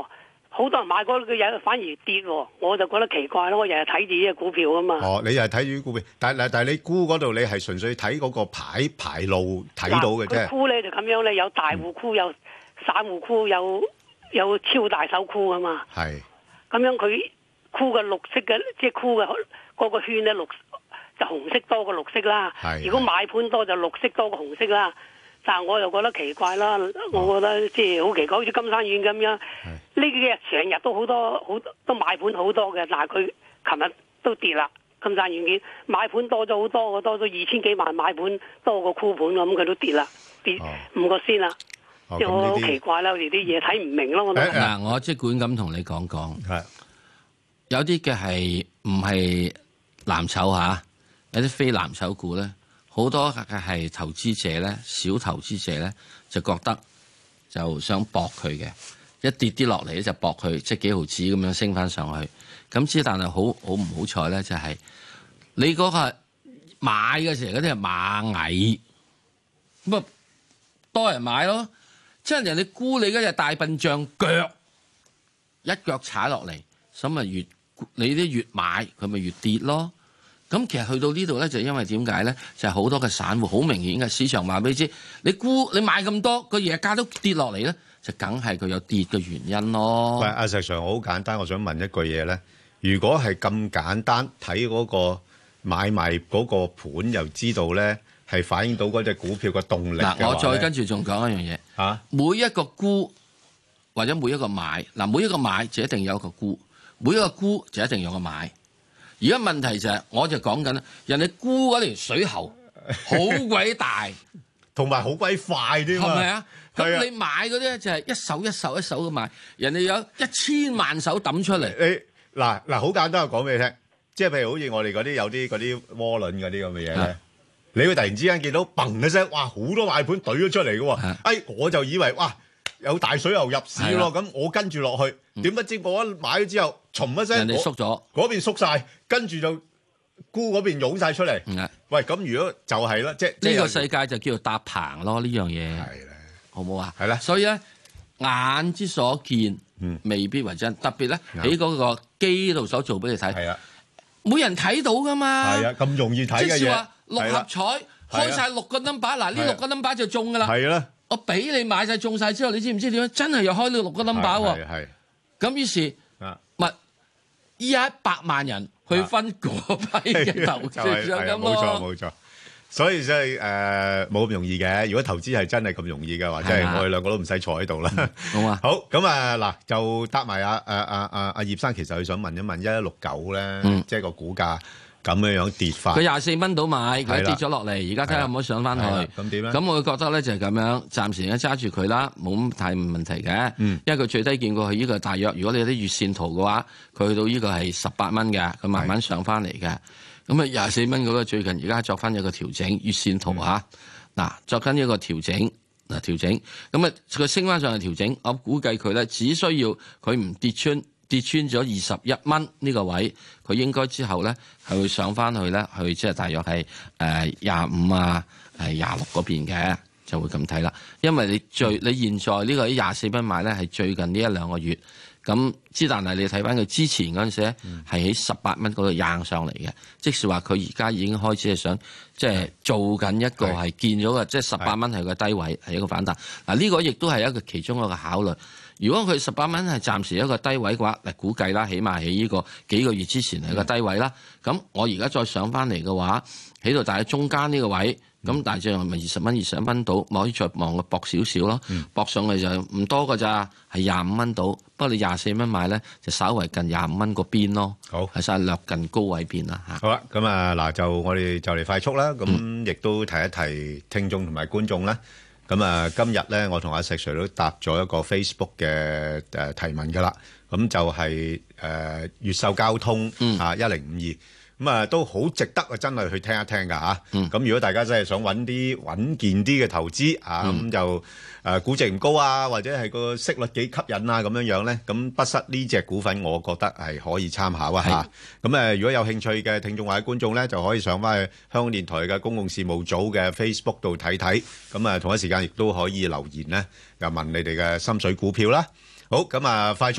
好多人買嗰個嘢反而跌喎，我就覺得奇怪咯。我日日睇住呢隻股票啊嘛。 哦，你又係睇住股票，但係但係你沽嗰度，你係純粹睇嗰個牌牌路睇到嘅啫。 佢沽咧就咁樣咧，有大戶沽，有散戶沽，有有超大手沽啊嘛。 係。 咁樣佢沽嘅綠色嘅，即係沽嘅嗰個圈咧綠就紅色多過綠色啦。如果買盤多就綠色多過紅色啦。但係我又覺得奇怪啦，我覺得即係好奇怪，好似金山軟咁樣，呢幾日成日都好多好都買盤好多嘅，但係佢琴日都跌啦。金山軟件買盤多咗好多，多咗二千幾萬買盤多過沽盤咁，佢都跌啦，跌五個先啦。即係我好奇怪啦，有時啲嘢睇唔明咯。我都嗱，我即管咁同你講講，有啲嘅係唔係藍籌嚇，有啲非藍籌股咧。好多嘅係投資者咧，小投資者咧就覺得就想搏佢嘅，一跌啲落嚟咧就搏佢，即係幾毫子咁樣升翻上去。咁之但係好好唔好彩咧，就係、是、你嗰個買嘅時候嗰啲係螞蟻，咁啊多人買咯，即係人哋沽你嗰隻大笨象腳，一腳踩落嚟，咁咪越你啲越買佢咪越跌咯。咁其實去到呢度咧，就因為點解咧？就係、是、好多嘅散戶好明顯嘅市場話俾你知，你估你買咁多個嘢價都跌落嚟咧，就梗係佢有跌嘅原因咯。 喂，阿石 Sir，好簡單，我想問一句嘢咧。如果係咁簡單睇嗰個買賣嗰個盤，又知道咧係反映到嗰隻股票嘅動力嘅話咧， 嗱，我再跟住仲講一樣嘢嚇，每一個沽或者每一個買，嗱每一個買就一定有一個沽，每一個沽就一定有一個買。而家問題就係、是，我就講緊啦，人哋沽嗰條水喉好鬼大， 同埋好鬼快啲嘛， 係咪啊？咁你買嗰啲就係一手一手一手咁買，人哋有一千萬手抌出嚟。 你嗱嗱好簡單，我講俾你聽，即係譬如好似我哋嗰啲有啲嗰啲渦輪嗰啲咁嘅嘢咧，你會突然之間見到砰一聲，哇好多買盤懟咗出嚟嘅喎，哎我就以為哇有大水牛入市咯，咁我跟住落去，點不知我一買咗之後，嘭一聲， 人哋縮咗， 嗰邊縮晒，跟住就沽嗰邊湧晒出嚟。喂，咁如果就係啦，即係呢個世界就叫做搭棚咯，呢樣嘢係啦，好唔好啊？ 係啦， 所以咧眼之所見，嗯，未必為真，特別咧喺嗰個機度所做俾你睇，係啊，每人睇到噶嘛，係啊， 咁容易睇嘅嘢， 即係話六合彩開晒六個 number， 嗱呢六個 number 就中噶啦，係啦。我俾你買晒中晒之後，你知唔知點樣？真係又開到六個 number 喎。係咁於是咪一百萬人去分嗰批嘅投資者咁咯。冇錯冇錯。所以真係誒冇咁容易嘅。如果投資係真係咁容易嘅話，即係我哋兩個都唔使坐喺度啦。好啊。好咁啊嗱，就答埋阿阿阿阿阿葉生，其實佢想問一問一一六九咧，即係個股價。咁樣樣跌法，佢廿四蚊到買，佢跌咗落嚟，而家睇下可唔可以上翻去？咁點咧？咁我覺得咧就係咁樣，暫時而家揸住佢啦，冇咁太問題嘅。嗯，因為佢最低見過佢呢個大約，如果你有啲月線圖嘅話，佢去到呢個係十八蚊嘅，佢慢慢上翻嚟嘅。咁啊廿四蚊嗰個最近而家作翻一個調整，月線圖嚇，嗱、嗯、作緊一個調整，嗱調整，咁啊佢升翻上去調整，我估計佢咧只需要佢唔跌穿。跌穿咗二十一蚊呢個位，佢應該之後咧係會上翻去咧，去即係大約係誒廿五啊，係廿六嗰邊嘅，就會咁睇啦。因為你最你現在呢個喺廿四蚊買咧，係最近呢一兩個月咁之，但係你睇翻佢之前嗰陣時咧，係喺十八蚊嗰度硬上嚟嘅，即是話佢而家已經開始係想即係、就是、做緊一個係見咗嘅，即係十八蚊係個低位，係一個反彈。嗱呢個亦都係一個其中一個考慮。如果佢十八蚊係暫時一個低位嘅話，嚟估計啦，起碼喺呢個幾個月之前係個低位啦。咁、嗯、我而家再上翻嚟嘅話，喺度大概中間呢個位，咁、嗯、大致係咪二十蚊、二十一蚊到，咪可以再望個搏少少咯。搏、嗯、上去就唔多㗎咋，係廿五蚊到。不過你廿四蚊買咧，就稍為近廿五蚊個邊咯。好，係晒略近高位邊啦嚇。好啦，咁啊嗱，就我哋就嚟快速啦。咁亦都提一提聽眾同埋觀眾啦。咁啊，今日咧，我同阿石 Sir 都答咗一個 Facebook 嘅誒提問噶啦，咁就係誒越秀交通啊一零五二，咁啊都好值得啊，真係去聽一聽噶嚇。咁如果大家真係想揾啲穩健啲嘅投資啊，咁就誒估值唔高啊，或者係個息率幾吸引啊咁樣樣咧，咁不失呢隻股份，我覺得係可以參考啊嚇。咁誒，如果有興趣嘅聽眾或者觀眾咧，就可以上翻去香港電台嘅公共事務組嘅 Facebook 度睇睇。咁啊，同一時間亦都可以留言咧，又問你哋嘅心水股票啦。好，咁啊，快速啦。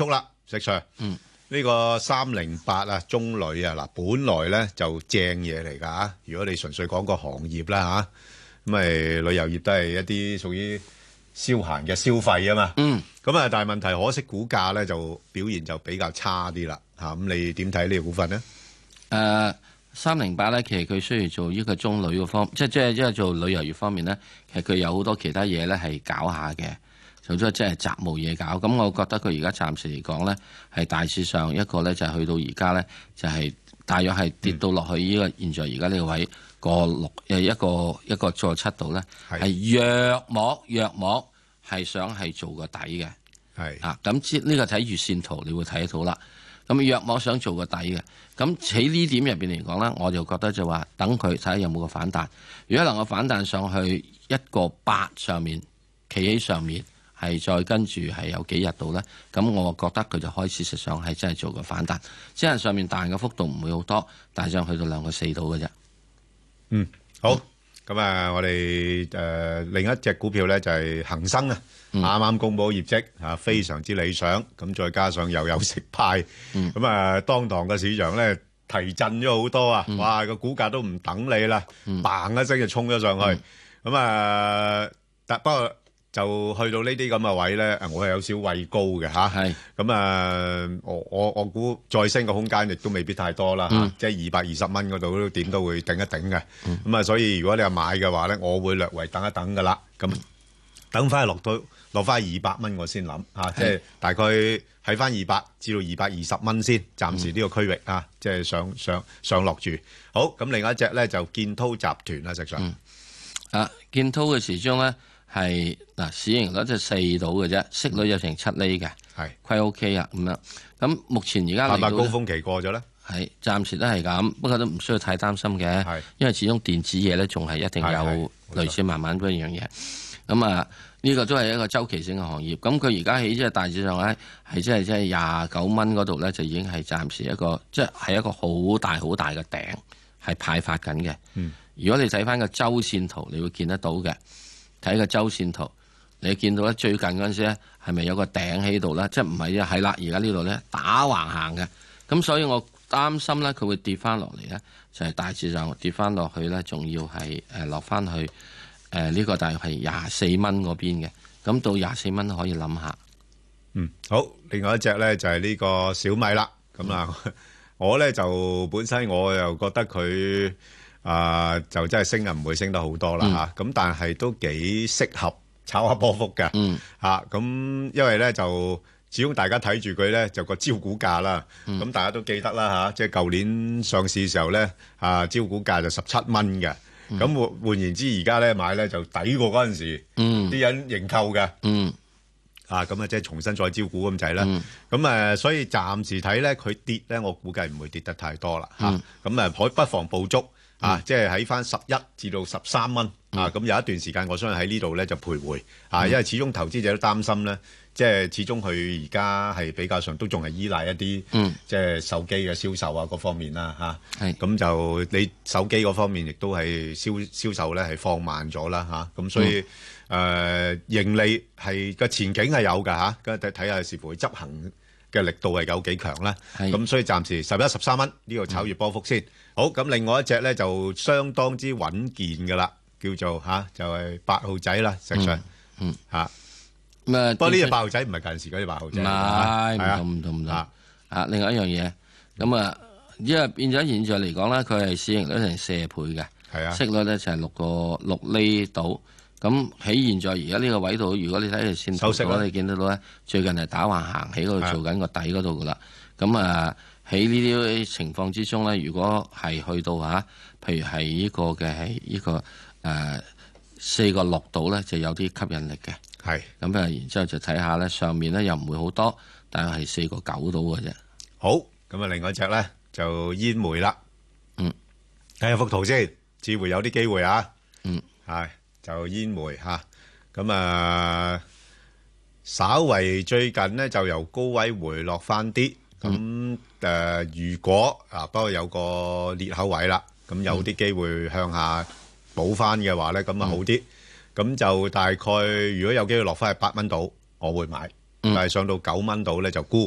石 Sir， 嗯， 呢個三零八啊，中旅啊，嗱，本來咧就正嘢嚟㗎嚇。如果你純粹講個行業啦嚇，咁咪旅遊業都係一啲屬於消閒嘅消費啊嘛。 嗯， 咁啊，但係問題可惜股價咧就表現就比較差啲啦嚇。咁你點睇呢個股份咧？ 誒三零八咧，其實佢需要做呢個中旅嘅方，即係即係即係做旅遊業方面咧，其實佢有好多其他嘢咧係搞下嘅。做咗即係雜無嘢搞，咁我覺得佢而家暫時嚟講咧，係大致上一個咧就係去到而家咧，就係大約係跌到落去呢個現在而家呢個位個六誒一個一個座七度咧，係弱摸弱摸係想係做個底嘅， 係啊咁知呢個睇月線圖你會睇得到啦。咁弱摸想做個底嘅，咁喺呢點入邊嚟講咧，我就覺得就話等佢睇下有冇個反彈。如果能夠反彈上去一個八上面，企喺上面。係再跟住係有幾日到咧，咁我覺得佢就開始實上係真係做個反彈，即係上面彈嘅幅度唔會好多，大上去到兩個四度嘅啫。 嗯，好，咁啊，我哋誒另一隻股票咧就係恒生啊，啱啱公佈業績啊，非常之理想，咁再加上又有息派，咁啊當堂嘅市場咧提振咗好多啊，哇個股價都唔等你啦，嘭一聲就衝咗上去，咁啊但不過。就去到呢啲咁嘅位咧，我係有少畏高嘅嚇。係咁啊，我我我估再升嘅空間亦都未必太多啦嚇。即係二百二十蚊嗰度都點都會頂一頂嘅。咁啊，所以如果你話買嘅話咧，我會略為等一等噶啦。咁等翻落到落翻二百蚊，我先諗嚇。即係大概喺翻二百至到二百二十蚊先，暫時呢個區域啊，即係上上上落住。好，咁另外一隻咧就建滔集團啦，實上啊，建滔嘅時鐘咧。係嗱，市盈率就四到嘅啫，息率有成七厘嘅，係虧 OK 啊咁樣。咁目前而家嚟到高峰期過咗咧， 係暫時都係咁，不過都唔需要太擔心嘅，因為始終電子嘢咧仲係一定有類似慢慢嗰樣嘢。咁啊，呢個都係一個周期性嘅行業。咁佢而家起即係大致上咧係即係即係廿九蚊嗰度咧，就已經係暫時一個即係係一個好大好大嘅頂，係派發緊嘅。嗯，如果你睇翻個周線圖，你會見得到嘅。睇個周線圖，你見到咧最近嗰陣時咧，係咪有個頂喺度咧？即係唔係啊？係啦，而家呢度咧打橫行嘅，咁所以我擔心咧佢會跌翻落嚟咧，就係、是、大致上跌翻落去咧，仲要係誒落翻去誒呢、呃這個大約係廿四蚊嗰邊嘅，咁到廿四蚊可以諗下。 嗯，好，另外一隻咧就係、是、呢個小米啦。咁啊，嗯、我咧就本身我又覺得佢。啊、呃，就真係升啊，唔會升得好多啦嚇。咁、嗯、但係都幾適合炒下波幅嘅。嗯。咁、啊，因為咧就始終大家睇住佢咧，就個招股價啦。咁、嗯、大家都記得啦嚇，即係舊年上市嘅時候咧，啊招股價就十七蚊嘅。咁、嗯、換換言之，而家咧買咧就抵過嗰陣時，嗯，啲人認購嘅。嗯。啊，咁啊，即係重新再招股咁滯啦。咁、嗯、誒，所以暫時睇咧，佢跌咧，我估計唔會跌得太多啦嚇。咁、嗯、誒，可不妨捕捉。啊，即係喺翻十一至到十三蚊啊，咁有一段時間，我相信喺呢度咧就徘徊啊，因為始終投資者都擔心咧，即係始終佢而家係比較上都仲係依賴一啲，嗯，即係手機嘅銷售啊嗰方面啦嚇，係咁就你手機嗰方面亦都係銷銷售咧係放慢咗啦嚇，咁所以誒盈利係個前景係有㗎嚇，咁睇睇下視乎佢執行嘅力度係有幾強啦，咁所以暫時十一十三蚊呢個炒月波幅先。好，咁另外一隻咧就相當之穩健㗎啦，叫做嚇、啊、就係、是、八號仔啦，實上嗯嚇咁啊。不過呢隻八號仔唔係近時嗰啲八號仔，唔係唔同唔同唔同啊。啊，另外一樣嘢咁啊，因為變咗現在嚟講咧，佢係市盈率成四倍嘅，係啊，息率咧就係六個六厘度。咁喺現在而家呢個位度，如果你睇條線圖，我哋見得到咧，最近係打橫行喺嗰度做緊個底嗰度噶啦。咁啊。喺呢啲情況之中咧，如果係去到嚇，譬如係呢個嘅係呢個誒四個六度咧，就有啲吸引力嘅。係咁啊，然之後就睇下咧，上面咧又唔會好多，但係四個九度嘅啫。好，咁啊，另外一隻咧就煙煤啦。嗯，睇下幅圖先，似乎有啲機會啊。嗯，係就煙煤嚇，咁啊，稍為最近咧就由高位回落翻啲。咁、嗯、誒、呃，如果啊，不過有個裂口位啦，咁有啲機會向下補翻嘅話咧，咁啊好啲。咁、嗯、就大概如果有機會落翻去八蚊度，我會買。嗯、但係上到九蚊度咧就沽，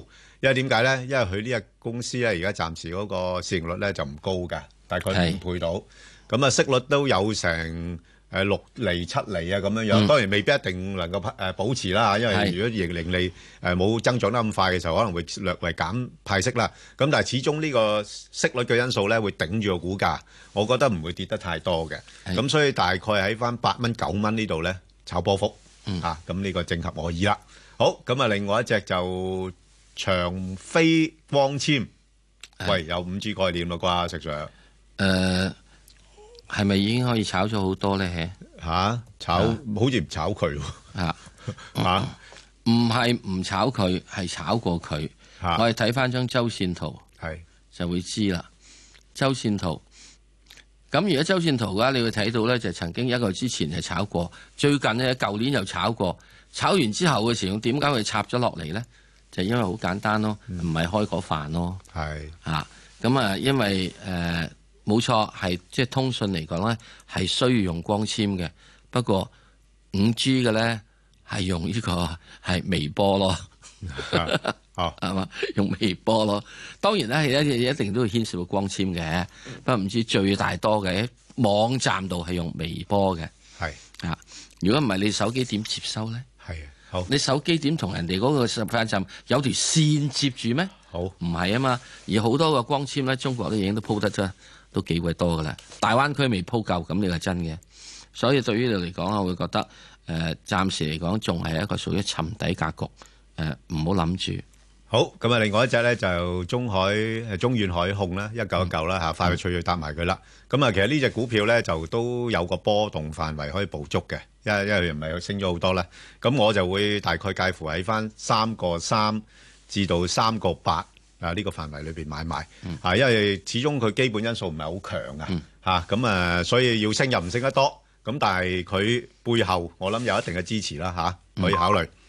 因為點解咧？因為佢呢隻公司咧，而家暫時嗰個市盈率咧就唔高嘅，大概五倍到。咁啊，息率都有成誒六厘、七厘啊咁樣樣。當然未必一定能夠誒保持啦，因為如果盈盈利誒冇增長得咁快嘅時候，可能會略為減派息啦。咁但係始終呢個息率嘅因素咧，會頂住個股價，我覺得唔會跌得太多嘅。咁所以大概喺翻八蚊、九蚊呢度咧炒波幅嚇，咁呢個正合我意啦。好，咁啊，另外一隻就長飛光纖，喂，有五 G 概念啦啩，石 Sir？ 誒，係咪已經可以炒咗好多咧？ 嚇，炒好似唔炒佢喎。 嚇嚇， 唔係唔炒佢，係炒過佢。我哋睇翻張周線圖， 係就會知啦。周線圖，咁如果周線圖嘅話，你會睇到咧，就曾經一個之前係炒過，最近咧舊年又炒過。炒完之後嘅時候，點解會插咗落嚟咧？就因為好簡單咯，唔係開嗰飯咯。 係啊，咁啊，因為誒冇錯，係即係通訊嚟講咧，係需要用光纖嘅。不過五 G 嘅咧係用呢個係微波咯。 哦， 係嘛？用微波咯。當然咧，係一一定都要牽涉到光纖嘅。不過唔知最大多嘅網站度係用微波嘅。 係啊，如果唔係你手機點接收咧？ 係好， 你手機點同人哋嗰個十塊站有條線接住咩？ 好， 唔係啊嘛。而好多個光纖咧，中國都已經都鋪得啫，都幾鬼多噶啦。大灣區未鋪夠，咁呢個係真嘅。所以對於你嚟講，我會覺得誒、呃，暫時嚟講仲係一個屬於沉底格局。誒、呃，唔好諗住。 好，咁啊，另外一隻咧就中海誒中遠海控啦，一嚿一嚿啦嚇，快脆脆要搭埋佢啦。咁啊，其實呢隻股票咧就都有個波動範圍可以捕捉嘅，因為因為唔係升咗好多啦。咁我就會大概介乎喺翻三個三至到三個八啊呢個範圍裏邊買賣嚇，因為始終佢基本因素唔係好強啊嚇，咁啊所以要升又唔升得多，咁但係佢背後我諗有一定嘅支持啦嚇，可以考慮。